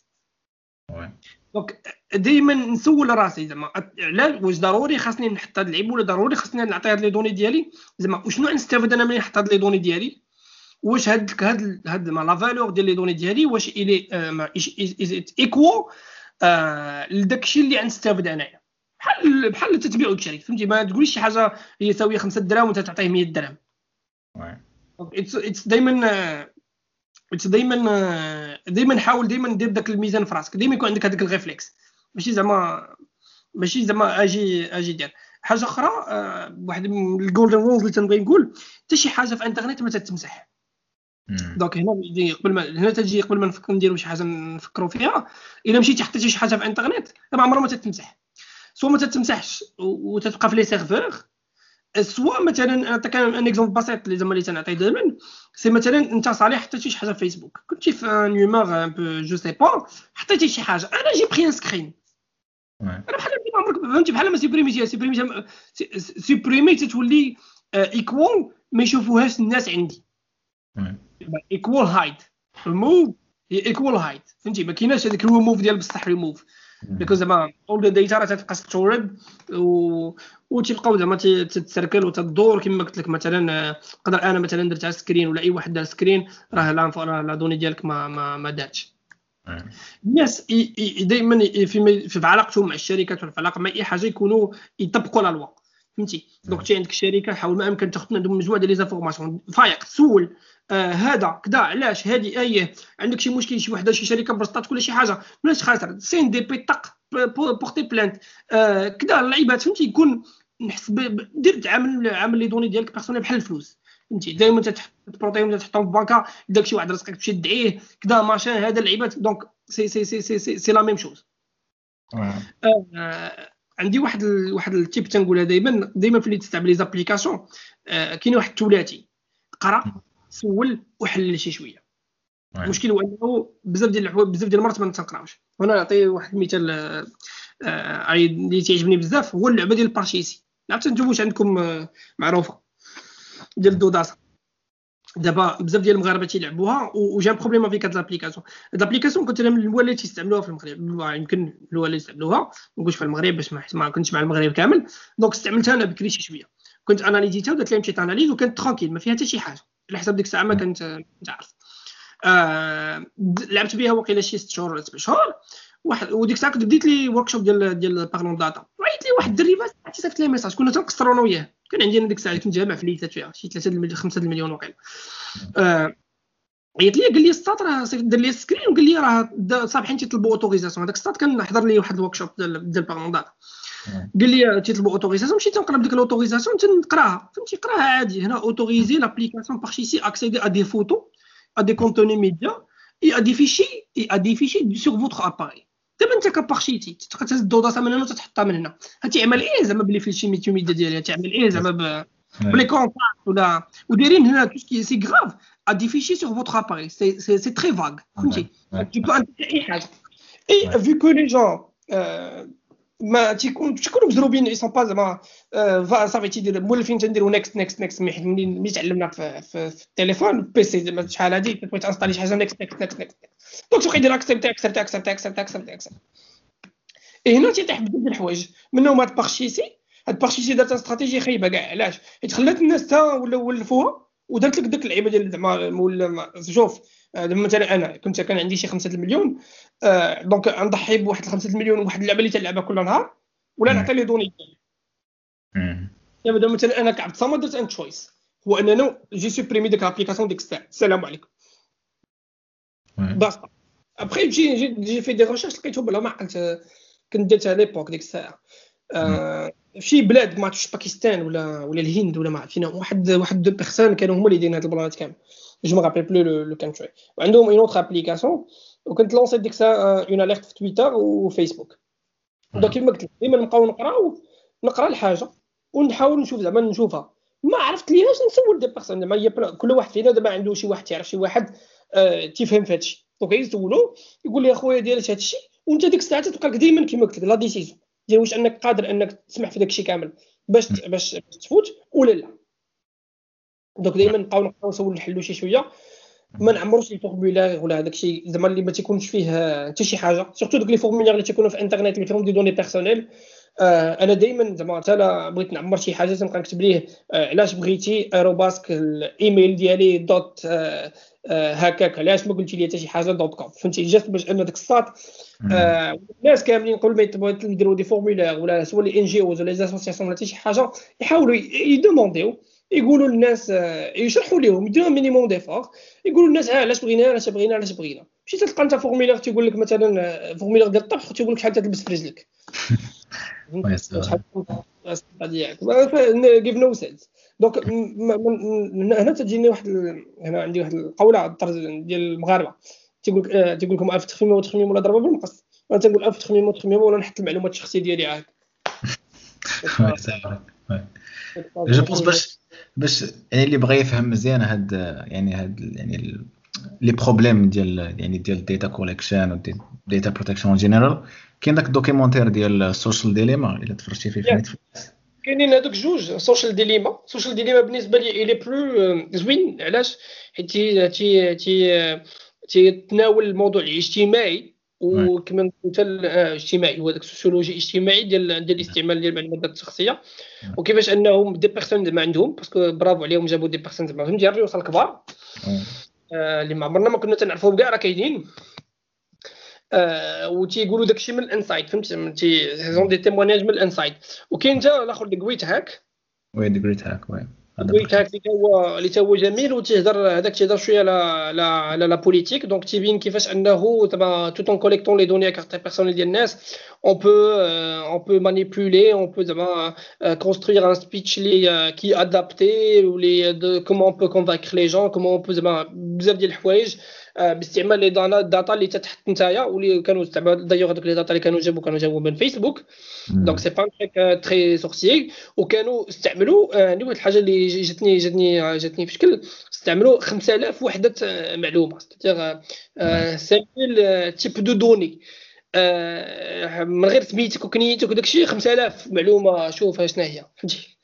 دونك دائما نسول راسي زعما على واش ضروري خاصني نحط هاد اللعيب ولا ضروري خاصني نعطي هاد لي دوني ديالي زعما وشنو نستافد انا ملي نحط هاد لي دوني ديالي واش هاد هاد هاد لا فالور ديال لي دوني ديالي واش الي از ايكوال لداكشي اللي غنستافد انايا بحال بحال تتبيع وتشري فهمتي ما تقوليش شي حاجه هي ساويه خمسة دراهم وانت تعطيه مية درهم. اتس اتس دائما اتس دائما دائما حاول دائما دير داك الميزان في راسك دائما يكون عندك هذاك الريفلكس ماشي زعما ماشي زعما اجي اجي دير حاجه اخرى. واحد من الجولدن رولز اللي تنبغي نقول حتى شي حاجه في الانترنت ما تتمسح. دونك هنا يجي قبل ما هنا تجي قبل ما نفكر نديروا شي حاجه نفكروا فيها الا مشيتي حطيتي شي حاجه في الانترنت ما عمرها ما تتمسح سوا ما تتمسحش وتتبقى في لي سيرفور سوا مثلا نعطيك ان اكزومبل بسيط اللي زعما اللي تنعطي دائما سي مثلا انت صالح حطيتي شي حاجه في فيسبوك كنتي في ان هيومور ان بو جو سي با حطيتي شي حاجه انا جي بري ان سكرين انا بحال ما عمرك فهمتي بحال ما سيبريميتي سيبريمي سيبريمي تتولي ايكوال ما يشوفوهاش الناس عندي ايكوال هايد remove هي equal height فهمتي ما كايناش هذاك remove ديال بصح remove بيكوز زعما all the data راه تتبقى ستورد و وتيبقاو زعما تتسركل وتدور كما قلت لك مثلا نقدر انا مثلا درت على سكرين ولا اي واحد دار سكرين راه لا لا دوني ديالك ما ما ما داتش الناس دائما في في علاقتهم مع الشركات ولا في علاقه مع اي حاجه يكونوا يطبقوا لا لوا فهمتي دونك تي عندك شركه حاول ما امكن تاخذ عندهم مجموعه ديال لي زانفورماسيون فايق تسول آه هذا كذا علاش هذه اي عندك شي مشكل شي وحده شي شركه برسطات ولا شي حاجه بلاش خاطر سين دي بي طق بورتي بلانت آه كذا اللعيبات فهمتي يكون نحس دير تعامل عامل لي دوني ديالك بيرسونيل بحال الفلوس فهمتي دائما تبروطيهم تحطهم في بانكا داك شي واحد راسك تمشي تدعيه كذا ماشين هذا اللعيبات دونك سي سي سي سي سي, سي لا ميم شوز آه عندي واحد ال... واحد التيب تنقولها دائما دائما في اللي تستعمل لي زابليكاسيون آه كاين واحد الثلاثي قرا سول وحلل شي شويه المشكل هو انه بزاف ديال الحوايج بزاف ديال المرات ما تنقراوش وانا نعطي واحد المثال آه اللي تعجبني بزاف هو اللعبه ديال البارشيسي عرفتوا نتوما واش عندكم آه معروفه ديال الدوداسه دابا بزاف ديال المغاربه تيلعبوها وجا بروبليم في هاد لابليكاسيون هاد لابليكاسيون كنت انا من الاول اللي تيستعملوها في المغرب يمكن الاول اللي يستعملوها ما نقولش في المغرب باش ما كنتش مع المغرب كامل دونك استعملتها انا بكري شي شويه كنت اناليزيتها ودرت لها مشيت اناليز وكانت ترانكيل ما فيها حتى شي حاجه على حسب ديك الساعه ما كنت كنت عارف آه لعبت بها وقيله شي ست شهور ولا سبع شهور واحد وديك الساعه كنت بديت لي ورك شوب ديال ديال بارلون داتا عيط لي واحد الدري فاس عرفتي صيفط لي ميساج كنا تنقصروا انا وياه كان عندي انا ديك الساعه كنت جامع فليتات فيها شي ثلاثة المليون خمسة المليون وقيله آه عيط لي قال لي السطات راه صيفط دار لي سكرين وقال لي راه صابحين تيطلبوا اوتوريزاسيون هذاك السطات كان حضر لي واحد الورك شوب ديال ديال بارلون داتا قال لي تيطلبوا اوتوريزاسيون مشيت نقرا ديك الاوتوريزاسيون تنقراها فهمتي قراها عادي هنا اوتوريزي لابليكاسيون بارشيسي اكسيدي ا دي فوتو ا دي كونتوني ميديا اي ا دي فيشي اي ا دي فيشي سور فوتر اباري دابا انت كبارشيتي تبقى تهز الدوداسه من هنا وتحطها من هنا هتعمل ايه زعما بلي فيشي ميديا ميديا ديالها تعمل ايه زعما ب بلي كونتاكت ولا ودايرين هنا توسكي سي غراف ا دي فيشي سور فوتر اباري سي سي سي تري فاغ فهمتي tu peux intégrer اي حاجه اي vu que les gens ما تيكون تيكونوا مزروبين اي سون با زعما صافي تيدير مولفين تنديروا نيكست نيكست نيكست ملي ملي تعلمنا في, في, في التليفون البيسي زعما شحال هادي تبغي تانستالي شي حاجه نيكست نيكست نيكست نيكست دونك تبقى يدير اكسبت اكسبت اكسبت اكسبت اكسبت اكسبت اي هنا تيطيح بزاف ديال الحوايج منهم هاد بارشيسي هاد بارشيسي دارت استراتيجيه خايبه كاع علاش حيت خلات الناس تا ولا ولفوها ودارت لك داك اللعيبه ديال زعما ولا شوف مثلا انا كنت كان عندي شي خمسة المليون آه دونك نضحي بواحد خمسة المليون وواحد اللعبه اللي تلعبها كل نهار ولا نعطي لي دوني ديالي دابا مثلا انا كعبد صامد درت ان تشويس هو اننا جي سوبريمي ديك لابليكاسيون ديك الساعه السلام عليكم باسطا ابري جي جي في دي ريشيرش لقيتهم بلا ما عقلت كنت درتها ليبوك ديك الساعه آه شي بلاد ما عرفتش باكستان ولا ولا الهند ولا ما عرفت فينا واحد واحد دو بيرسون كانوا هما اللي دايرين هاد البلانات كامل جو ما رابيل بلو لو كانتري وعندهم اون اوتر ابليكاسيون وكنت لونسيت ديك الساعه اون اليرت في تويتر وفيسبوك دونك كيما قلت لك ديما نبقاو نقراو نقرا الحاجه ونحاول نشوف زعما نشوفها ما عرفت ليهاش نسول دي بيرسون زعما هي كل واحد فينا دابا عنده شي واحد تعرف شي واحد آه تيفهم في هادشي دونك يسولو يقول لي اخويا ديالك هادشي وانت ديك الساعه تلقاك ديما كيما قلت لك لا ديسيزيون ديال واش انك قادر انك تسمح في داكشي كامل باش باش تفوت ولا لا دونك دائما نبقاو نقراو نسول نحلو شي شويه ما نعمروش لي فورمولير ولا داكشي زعما اللي ما تيكونش فيه حتى شي حاجه سورتو دوك لي فورمولير اللي تيكونوا في انترنت اللي فيهم دي دوني بيرسونيل آه انا دائما زعما حتى لا بغيت نعمر شي حاجه تنبقى نكتب ليه آه علاش بغيتي اروباسك الايميل ديالي دوت آه آه هكاك علاش ما قلتي لي حتى شي حاجه دوت كوم فهمتي جات باش ان داك الساط آه الناس كاملين قبل ما يطلبوا يديروا دي فورمولير ولا سوا لي ان جي اوز ولا لي اسوسياسيون ولا حتى شي حاجه يحاولوا يدومونديو يقولوا للناس يشرحوا لهم يديروا مينيموم ديفور يقولوا للناس ها علاش بغينا علاش بغينا علاش بغينا ماشي تلقى انت فورمولير تيقول لك مثلا فورمولير ديال الطبخ تيقول لك شحال تلبس في رجلك شحال ديالك غيف نو سيلز دونك هنا تجيني واحد هنا عندي واحد القوله على الطرز ديال المغاربه تيقول لك تيقول لكم الف تخميم وتخميم ولا ضربه بالمقص انا تنقول الف تخميم وتخميم ولا نحط المعلومات الشخصيه ديالي عاد جو بونس باش باش يعني اللي بغى يفهم مزيان هاد يعني هاد يعني لي بروبليم ديال يعني ديال داتا كوليكشن و داتا بروتكشن جينيرال كاين داك الدوكيومونتير ديال السوشيال ديليما الا تفرجتي فيه في نتفليكس كاينين هذوك جوج سوشيال ديليما سوشيال ديليما بالنسبه لي اي لي بلو زوين علاش حيت تي تي تيتناول الموضوع الاجتماعي وكما قلت الاجتماعي هو داك السوسيولوجي الاجتماعي ديال ديال الاستعمال ديال المعلومات الشخصيه وكيفاش انهم دي بيرسون ما عندهم باسكو برافو عليهم جابوا دي بيرسون زعما فهمتي الريوس الكبار آه اللي ما عمرنا ما كنا تنعرفوهم كاع راه كاينين آه وتيقولوا داكشي من الانسايد فهمتي زون دي تيموناج من الانسايد وكاين حتى الاخر ديك ويت هاك وي دي جريت هاك وي ويت هاك اللي هو اللي هو جميل وتيهضر هذاك تيهضر شويه على على على لا بوليتيك دونك تيبين كيفاش انه زعما tout en collectant les données à carte personnelle ديال الناس on peut euh, on peut manipuler on peut زعما euh, construire un speech اللي euh, qui adapté ou les de comment on peut convaincre les gens comment on peut زعما بزاف ديال الحوايج uh, باستعمال لي داتا اللي تتحط نتايا واللي كانوا استعمال دايوغ هذوك لي داتا اللي كانوا جابوا كانوا جابوا من فيسبوك دونك سي با ان تريك تري سورسيي وكانوا استعملوا عندي واحد الحاجه اللي جاتني جاتني جاتني في شكل استعملوا خمسة آلاف وحده معلومه ستيغ خمسة آلاف تيب دو دوني من غير سميتك وكنيتك وداكشي خمسة آلاف معلومه شوف شنو هي فهمتي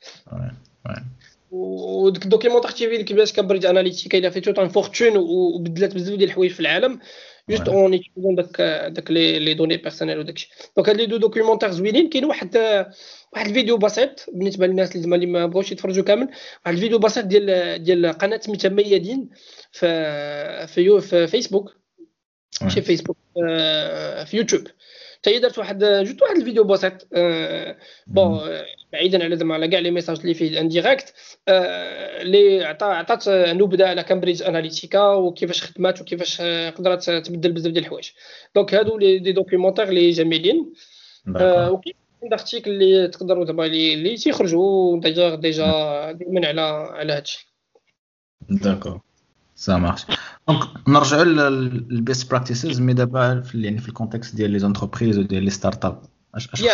وداك الدوكيومونطير تيفي كيفاش كامبريدج اناليتيكا الى فيتو طون فورتون وبدلات بزاف ديال الحوايج في العالم جوست اون يتيزون داك داك لي لي دوني بيرسونيل وداكشي دونك هاد لي دو دوكيومونطير زوينين كاين واحد واحد الفيديو بسيط بالنسبه للناس اللي اللي ما بغاوش يتفرجوا كامل واحد الفيديو بسيط ديال ديال قناه سميتها ميادين في في, في فيسبوك ماشي فيسبوك في يوتيوب حتى هي دارت واحد جوست واحد الفيديو بسيط بون بعيدا على زعما على كاع لي ميساج اللي فيه انديريكت اللي عطات عطات نبذه على كامبريدج اناليتيكا وكيفاش خدمات وكيفاش قدرت تبدل بزاف ديال الحوايج دونك هادو لي دي دوكيومونطير اللي جميلين وكاين دارتيكل اللي تقدروا دابا اللي تيخرجوا ديجا ديجا دائما على على هادشي داكور ça marche donc نرجعوا للبيست براكتيسز مي دابا في يعني في الكونتكست ديال لي زونتربريز وديال لي ستارت اب اش اش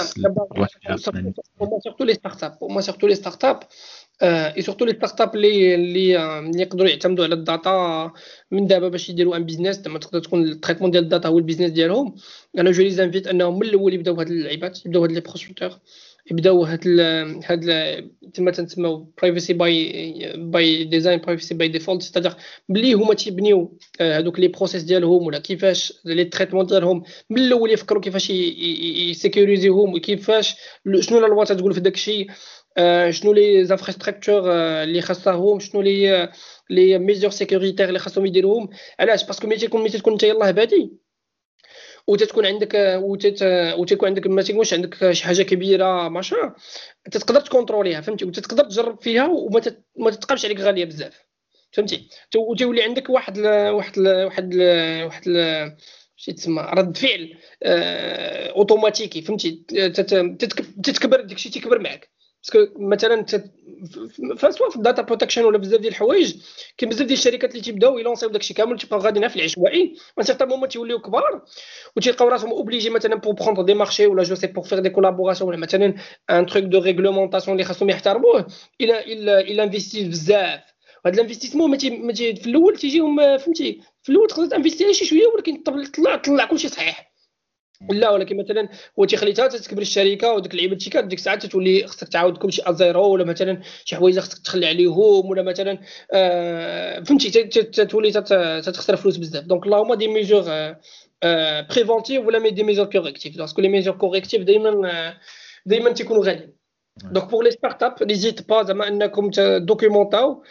سورتو لي ستارت اب وما سورتو لي ستارت اب اي سورتو لي ستارت اب اللي اللي يقدروا يعتمدوا على الداتا من دابا باش يديروا ان بيزنس زعما تقدر تكون التريتمون ديال الداتا هو البيزنس ديالهم انا جو لي زانفيت انهم من الاول يبداو هاد اللعيبات يبداو هاد لي بروسبكتور يبداو هاد ال هاد كما تنسموا برايفسي باي باي ديزاين برايفسي باي ديفولت ستادير بلي هما تيبنيو هادوك لي بروسيس ديالهم ولا كيفاش لي تريتمون ديالهم من الاول يفكروا كيفاش يسيكوريزيهم وكيفاش شنو لا لوا تقول في داكشي شنو لي زانفراستركتور اللي خاصهم شنو لي لي ميزور سيكوريتير اللي خاصهم يديروهم علاش باسكو ملي تكون ملي تكون انت يلاه بادي وتتكون عندك وتت وتكون عندك ما تيكونش عندك شي حاجه كبيره ماشي تقدر تكونتروليها فهمتي وتقدر تجرب فيها وما ما تتقابش عليك غاليه بزاف فهمتي وتولي عندك واحد ل... واحد ل... واحد ل... واحد ل... شي تسمى رد فعل آه... اوتوماتيكي فهمتي تتكبر داكشي تيكبر معك باسكو مثلا فسوا في الداتا بروتكشن ولا بزاف ديال الحوايج كاين بزاف ديال الشركات اللي تيبداو يلونسيو داكشي كامل تيبقاو غاديين في العشوائي وان سيغتان مومون تيوليو كبار وتيلقاو راسهم اوبليجي مثلا بور بروندر دي مارشي ولا جو سي بور فير دي كولابوراسيون ولا مثلا ان تروك دو ريغلومونطاسيون اللي خاصهم يحترموه الى الى الى انفيستي بزاف وهذا الانفستيسمون ما في الاول تيجيهم فهمتي في الاول تقدر تانفيستي شي شويه ولكن طلع طلع كلشي صحيح لا ولكن مثلا هو تيخليتها تكبر الشركه وديك اللعيبه الشركات ديك الساعه تولي خصك تعاود كلشي ازيرو ولا مثلا شي حوايج خصك تخلي عليهم ولا مثلا آه فهمتي تولي تخسر فلوس بزاف دونك اللهم دي ميجور آه بريفونتيف ولا مي دي ميجور كوريكتيف باسكو لي ميجور كوريكتيف دائما دائما تيكونوا غاليين دونك بور لي ستارت اب نيزيت با زعما انكم دوكيومونطاو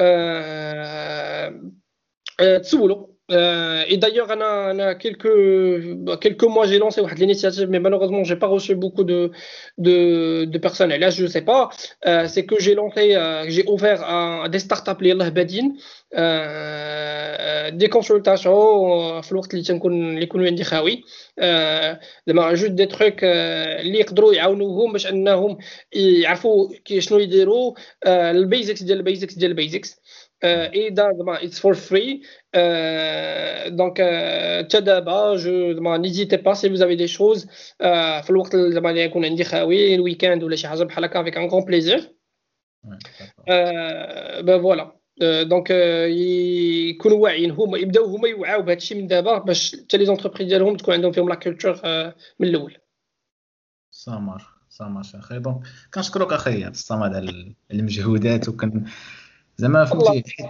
آه آه تسولوا Euh, et d'ailleurs, on a, on a quelques, quelques mois, j'ai lancé une initiative, mais malheureusement, j'ai pas reçu beaucoup de, de, de personnes. Et là, je sais pas. Euh, c'est que j'ai lancé, euh, j'ai ouvert à, à des startups, les Badin, euh, des consultations, في الوقت اللي تنكون اللي يكونوا عندي خاوي. زعما جوج دي تروك اللي يقدروا يعاونوهم باش انهم يعرفوا شنو يديروا البيزكس ديال البيزكس ديال البيزكس. اي دا زعما اتس فور فري دونك حتى دابا جو زعما نيزيتي با سي فوز افي دي شوز في الوقت زعما اللي يكون عندي خاوي الويكاند ولا شي حاجه بحال هكا افيك ان غون بليزير با فوالا دونك يكونوا واعيين هما يبداو هما يوعاو بهذا الشيء من دابا باش حتى لي زونتربريز ديالهم تكون عندهم فيهم لا كولتور من الاول سامر سامر اخي دونك كنشكرك اخي الصمد على المجهودات وكن زعما فهمتي حيت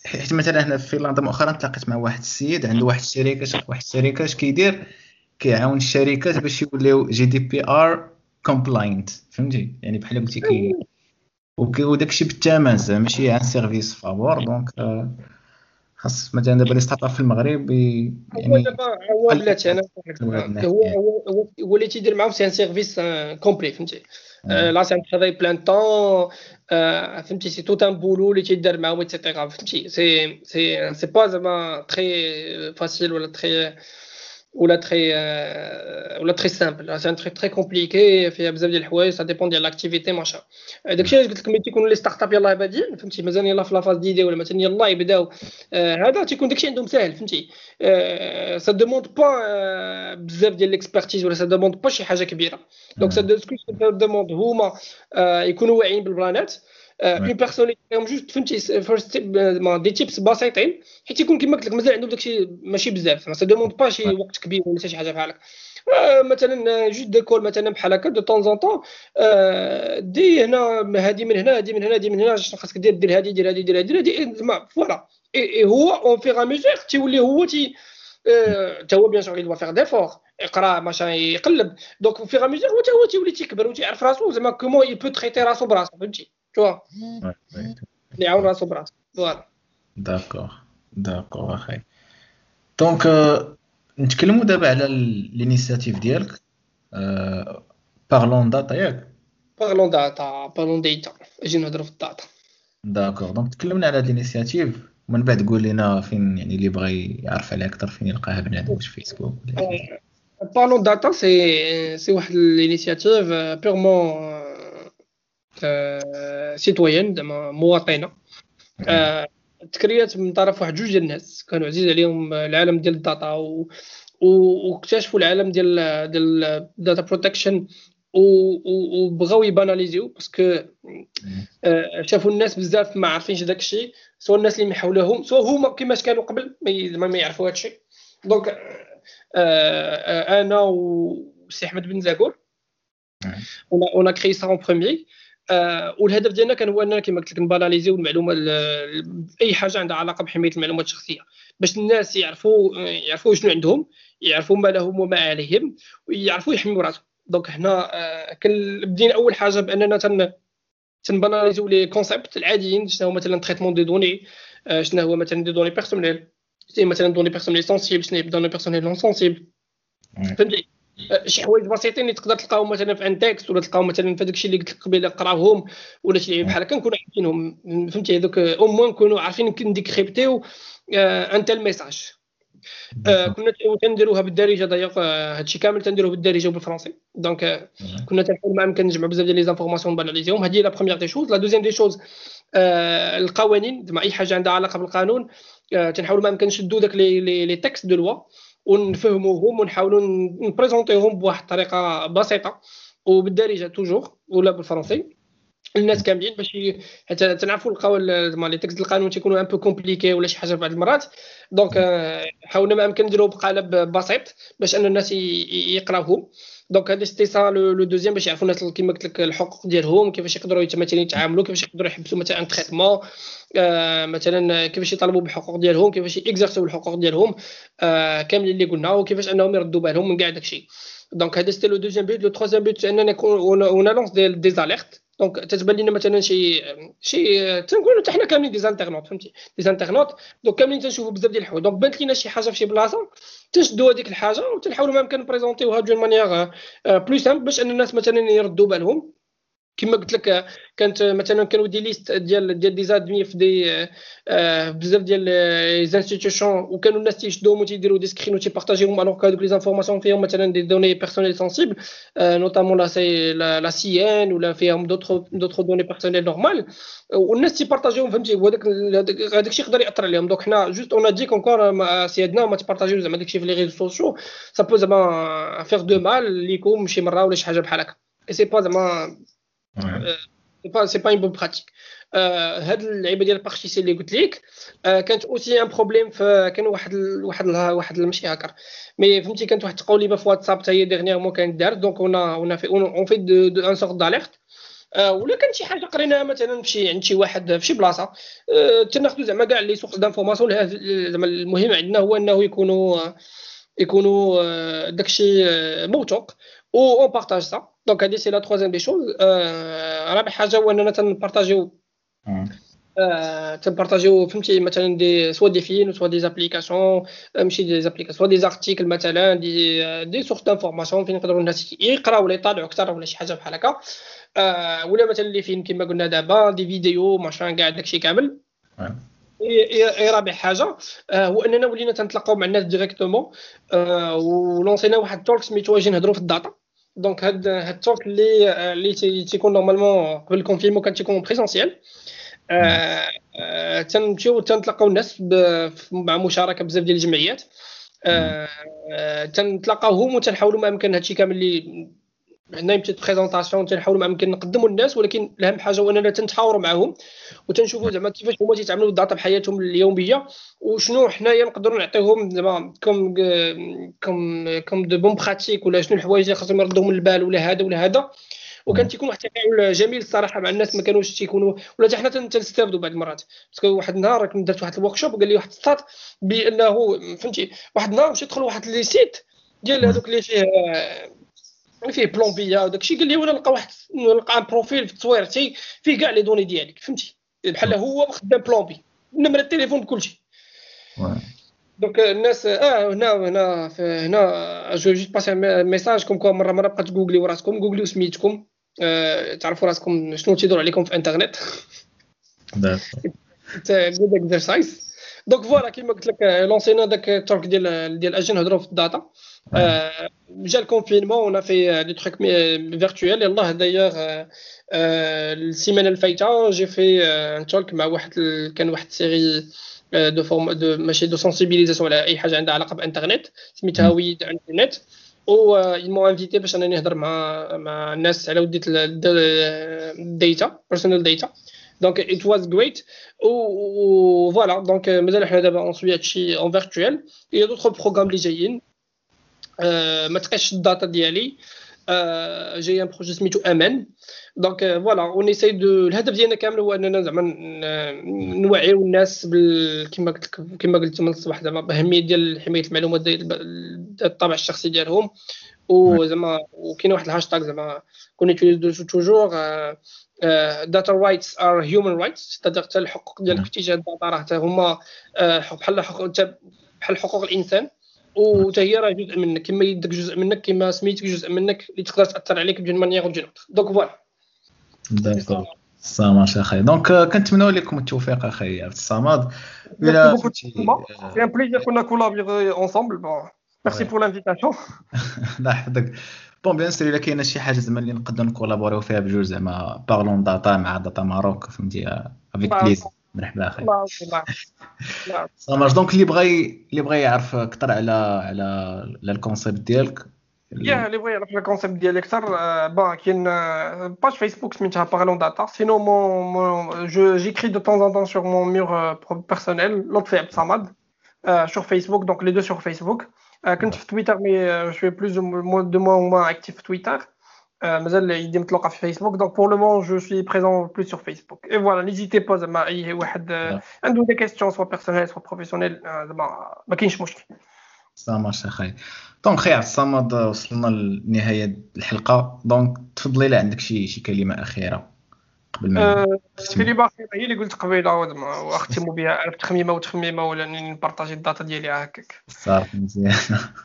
حيت مثلا هنا في فنلندا مؤخرا تلاقيت مع واحد السيد عنده واحد الشركه واحد الشركه اش كيدير كيعاون الشركات باش يوليو جي دي بي ار كومبلاينت فهمتي يعني بحال قلتي كي وداك الشيء بالثمن زعما ماشي عن سيرفيس فابور دونك خاص مثلا دابا لي ستارت اب في المغرب هو يعني دابا هو بلاتي انا هو هو هو اللي تيدير معاهم سي ان سيرفيس كومبلي فهمتي لا سي ان ترافاي بلان طون فهمتي سي تو ان بولو اللي تيدار معاهم ايتترا فهمتي سي سي سي با زعما تري فاسيل ولا تري ولا تري ولا تري سامبل سي ان تري تري كومبليكي فيها بزاف ديال الحوايج سا ديبون ديال لاكتيفيتي ماشا داكشي علاش قلت لكم ملي تيكونوا لي ستارت اب يلاه بادين فهمتي مازال يلاه في لافاز ديدي ولا مثلا يلاه يبداو هذا تيكون داكشي عندهم ساهل فهمتي سا دوموند با بزاف ديال ليكسبيرتيز ولا سا دوموند با شي حاجه كبيره دونك سا دوموند هما يكونوا واعيين بالبلانات اون بيرسون اللي جوست فهمتي فيرست دي تيبس بسيطين حيت يكون كما قلت لك مازال عندهم داكشي ماشي بزاف سا دوموند با شي وقت كبير ولا شي حاجه بحال هكا مثلا جوست ديكول مثلا بحال هكا دو طون زون طون دي هنا هادي من هنا هادي من هنا هادي من هنا شنو خاصك دير دير هادي دير هادي دير هادي دير زعما فوالا اي هو اون فيغ ا ميزور تيولي هو تي حتى هو بيان سور يدوا فيغ ديفور يقرا ماشا يقلب دونك فيغ ا ميزور هو هو تيولي تيكبر وتيعرف راسو زعما كومون يبو تريتي راسو براسو فهمتي توا اللي يعاون راسو براسو فوالا داكور داكور اخي دونك نتكلموا دابا على الانيشيتيف ديالك بارلون داتا ياك بارلون داتا بارلون ديتا اجي نهضروا في الداتا داكور دونك تكلمنا على هاد الانيشيتيف ومن بعد قول لنا فين يعني اللي بغى يعرف عليها اكثر فين يلقاها بنادم واش فيسبوك بارلون داتا سي سي واحد الانيشيتيف بيرمون سيتويان زعما مواطنه تكريات من طرف واحد جوج ديال الناس كانوا عزيز عليهم العالم ديال الداتا و واكتشفوا العالم ديال ديال داتا بروتكشن وبغاو يباناليزيو باسكو شافوا الناس بزاف ما عارفينش داك الشيء سواء الناس اللي محولهم سواء هما كيفاش كانوا قبل ما ما يعرفوا هذا الشيء دونك انا وسي احمد بن زاكور اون ا كريي سا اون بروميير والهدف ديالنا كان هو اننا كما قلت لك نباناليزيو المعلومه اي حاجه عندها علاقه بحمايه المعلومات الشخصيه باش الناس يعرفوا يعرفوا شنو عندهم يعرفوا ما لهم وما عليهم ويعرفوا يحميوا راسهم دونك حنا كان بدينا اول حاجه باننا تن تنباناليزيو لي كونسيبت العاديين شنو هو مثلا تريتمون دي دوني شنو هو مثلا دي دوني بيرسونيل شنو مثلا دوني بيرسونيل سونسيبل شنو هي دوني بيرسونيل نون سونسيبل فهمتي شي حوايج بسيطين اللي تقدر تلقاهم مثلا في ان تكست ولا تلقاهم مثلا في داكشي اللي قلت لك قبيله قراوهم ولا شي بحال هكا نكونوا عارفينهم فهمتي هذوك او موان نكونوا عارفين نديكريبتيو ان تال ميساج كنا تنديروها بالدارجه ضيق هادشي كامل تنديروه بالدارجه وبالفرنسي دونك كنا تنحاول ما امكن نجمعوا بزاف ديال لي زانفورماسيون باناليزيهم هذه لا بروميير دي شوز لا دوزيام دي شوز القوانين زعما اي حاجه عندها علاقه بالقانون تنحاولوا ما امكن نشدوا داك لي لي تكست دو لوا ونفهموهم ونحاولوا نبريزونطيهم بواحد الطريقه بسيطه وبالدارجه توجور ولا بالفرنسي الناس كاملين باش حتى تنعرفوا القوال زعما لي تكست القانون تيكونوا ان بو كومبليكي ولا شي حاجه بعض المرات دونك حاولنا ما امكن نديروه بقالب بسيط باش ان الناس يقراوهم دونك هذا سيتي سا لو دوزيام باش يعرفوا الناس كيما قلت لك الحقوق ديالهم كيفاش يقدروا مثلا يتعاملوا كيفاش يقدروا يحبسوا مثلا ان تريتمون مثلا كيفاش يطالبوا بالحقوق ديالهم كيفاش يكزرسوا الحقوق ديالهم كاملين اللي قلنا وكيفاش انهم يردوا بالهم من كاع داكشي دونك هذا سيتي لو دوزيام بيت لو تروزيام بيت اننا نكون اون لونس دي دي اليرت دونك تتبان لنا مثلا شي شي تنقولوا حتى حنا كاملين دي زانترنوت فهمتي دي زانترنوت دونك كاملين تنشوفوا بزاف ديال الحوايج دونك بانت لينا شي حاجه في شي بلاصه تنشدوا هذيك الحاجه وتنحاولوا ما يمكن نبريزونطيوها دون مانيير بلو سامبل باش ان الناس مثلا يردوا بالهم كما قلت لك كانت مثلا كانوا دي ليست ديال ديال دي زادمي في دي بزاف ديال لي انستيتيوشن وكانوا الناس تيشدوهم وتيديروا دي سكرين وتيبارطاجيوهم الوغ كو هذوك لي زانفورماسيون فيهم مثلا دي دوني بيرسونيل سنسيبل نوتامون لا سي لا سي ان ولا فيهم دوطخ دوطخ دوني بيرسونيل نورمال والناس تيبارطاجيوهم فهمتي وهذاك هذاك الشيء يقدر ياثر عليهم دونك حنا جوست اون ديك انكور سيادنا ما تبارطاجيو زعما داك الشيء في لي ريزو سوسيو سا بو زعما فيغ دو مال ليكم شي مره ولا شي حاجه بحال هكا سي با زعما سي با سي با اون بون براتيك هاد اللعيبه ديال البارتيسي اللي قلت لك كانت اوسي ان بروبليم كان واحد واحد واحد ماشي هاكر مي فهمتي كانت واحد التقوليبه في واتساب حتى هي ديرنييرمون كانت دارت دونك اون اون في اون في دو ان سورت داليرت آه ولا كان شي حاجه قريناها مثلا في شي عند شي واحد في شي بلاصه آه تناخذوا زعما كاع لي سورس دانفورماسيون. زعما المهم عندنا هو انه يكونوا يكونوا آه داكشي آه موثوق و اون بارطاج سا. دونك هذه سي لا ترويزيام دي شوز. آه رابع حاجه هو اننا تنبارطاجيو آه تنبارطاجيو فهمتي مثلا دي سوا دي فيلم سوا دي زابليكاسيون ماشي دي زابليكاسيون سوا دي زارتيكل مثلا دي دي سورس دانفورماسيون فين يقدروا الناس يقراو ولا يطالعوا اكثر ولا شي حاجه بحال هكا. آه ولا مثلا اللي فين كما قلنا دابا دي فيديو ماشان كاع داكشي كامل. اي رابع حاجه آه هو اننا ولينا تنتلاقاو مع الناس ديريكتومون آه ولونسينا واحد التورك سميتو اجي نهضروا في الداتا. دونك هاد هاد التورك اللي اللي تيكون نورمالمون قبل الكونفينمون كان تيكون بريزونسيال. آه تنمشيو تنتلاقاو الناس مع مشاركه بزاف ديال الجمعيات. آه تنتلاقاوهم وتنحاولوا ما امكن هادشي كامل اللي عندنا يمشي بريزونطاسيون تنحاولوا ما امكن نقدموا للناس. ولكن الاهم حاجه هو اننا تنتحاوروا معاهم وتنشوفوا زعما كيفاش هما تيتعاملوا بالداتا بحياتهم اليوميه وشنو حنايا نقدروا نعطيهم زعما كوم كوم كوم دو بون براتيك ولا شنو الحوايج اللي خاصهم يردوهم للبال ولا هذا ولا هذا. وكان تيكون واحد التفاعل جميل الصراحه مع الناس ما كانوش تيكونوا ولا حتى حنا تنستافدوا بعض المرات. باسكو واحد النهار كنت درت واحد الوركشوب وقال لي واحد السطات بانه فهمتي واحد النهار مشيت ندخل واحد لي سيت ديال هذوك اللي فيه فيه بلومبيا وداكشي قال لي وانا نلقى واحد نلقى ان بروفيل في تصويرتي فيه كاع لي دوني ديالك فهمتي بحال هو خدام بلومبي نمره التليفون بكلشي. دونك الناس اه هنا هنا هنا جو جيت باسي ميساج كوم كو مره مره بقات جوجلي وراسكم جوجلي سميتكم آه تعرفوا راسكم شنو تيدور عليكم في انترنت. حتى جود اكسرسايز. دونك فوالا كيما قلت لك لونسينا داك التورك ديال ديال اجي نهضروا في الداتا. آه جا الكونفينمون ونا في دي تروك فيرتوال. يلاه دايوغ آه السيمانه الفايته جي في ان تولك مع واحد كان واحد سيري دو فورم دو ماشي دو سونسيبيليزاسيون على اي حاجه عندها علاقه بالانترنت سميتها ويد انترنت. و يمو انفيتي باش انني نهضر مع مع الناس على وديت الداتا بيرسونال داتا. دونك ات واز جريت و فوالا. دونك مازال حنا دابا اون سوي هادشي اون فيرتوال. يا دوطخ بروغرام اللي جايين أه ما تقاش الداتا ديالي أه جاي ان بروجي سميتو امان. دونك فوالا اون ايساي دو الهدف ديالنا كامل هو اننا زعما نوعيو الناس بال كما قلت كما قلت من الصباح زعما باهميه ديال حمايه المعلومات ديال الطابع الشخصي ديالهم. وزعما وكاين واحد الهاشتاغ زعما كون يوتيليزو توجور داتا رايتس ار هيومن رايتس. تقدر حتى الحقوق ديالك في اتجاه الداتا راه حتى هما بحال حقوق بحال حقوق الانسان وحتى هي راه جزء منك كما يدك جزء منك كما سميتك جزء منك اللي تقدر تاثر عليك بجوج مانيير وبجوج نوت. دونك فوالا داكور صامت اخي. دونك كنتمنوا لكم التوفيق اخي عبد الصمد. الى سي ان بليزير كنا كولابيغي اونصومبل. بون ميرسي بور لانفيتاسيون. الله يحفظك. بون بيان سور الا كاينه شي حاجه زعما اللي نقدروا نكولابوريو فيها بجوج زعما بارلون داتا مع داتا ماروك فهمتي افيك بليز مرحبا اخي. صامت. دونك اللي بغى اللي بغى يعرف اكثر على على على الكونسيبت ديالك يا اللي بغى يعرف الكونسيبت ديالي اكثر بون كاين باج فيسبوك سميتها بارلون داتا. سينو مون جو جيكري دو طون ان طون سور مون ميور بيرسونيل لطفي عبد الصمد sur Facebook. Donc les deux sur Facebook. كنت في تويتر مي شوي بلوز دو موا موا اكتيف في تويتر. مازال يدي متلقى في فيسبوك. دونك بور لو مون جو سوي بريزون بلوس sur Facebook. Et voilà n'hésitez pas زعما اي واحد عنده دي كيستيون سوا بيرسونيل سوا بروفيسيونيل زعما ما كاينش مشكل. سامح اخي. دونك خي عبد الصمد وصلنا لنهايه الحلقه. دونك تفضلي لا عندك شي شي كلمه اخيره قبل ما كلمه اخيره هي اللي قلت قبيله واختموا بها عرفت تخميمه وتخميمه ولا نبارطاجي الداتا ديالي هكاك صافي مزيان.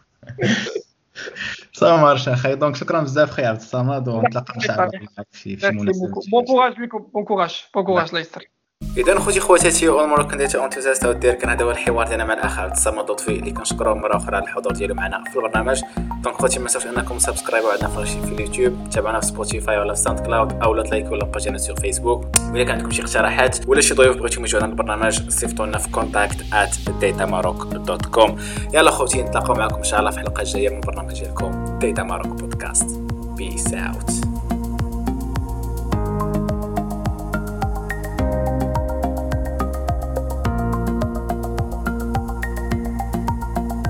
سامر اخي. دونك شكرا بزاف خي عبد الصمد ونتلاقاو ان شاء الله في في مناسبه. بون كوراج لكم. بون كوراج بون كوراج الله يستر. اذا خوتي خواتاتي اول مره كنت انتوزاست ودير كان هذا هو الحوار ديالنا مع الاخ عبد الصمد لطفي اللي كنشكروه مره اخرى على الحضور ديالو معنا في البرنامج. دونك خوتي ما تنساوش انكم سبسكرايبوا عندنا في اليوتيوب تابعونا في سبوتيفاي ولا في ساوند كلاود او لا تلايكوا ولا باجينا في فيسبوك. وإلا كان عندكم شي اقتراحات ولا شي ضيوف بغيتو يجيو على البرنامج صيفطوا لنا في كونتاكت آت داتا ماروك دوت كوم. يلا خوتي نتلاقاو معكم ان شاء الله في الحلقه الجايه من البرنامج ديالكم داتا ماروك بودكاست. بيس اوت.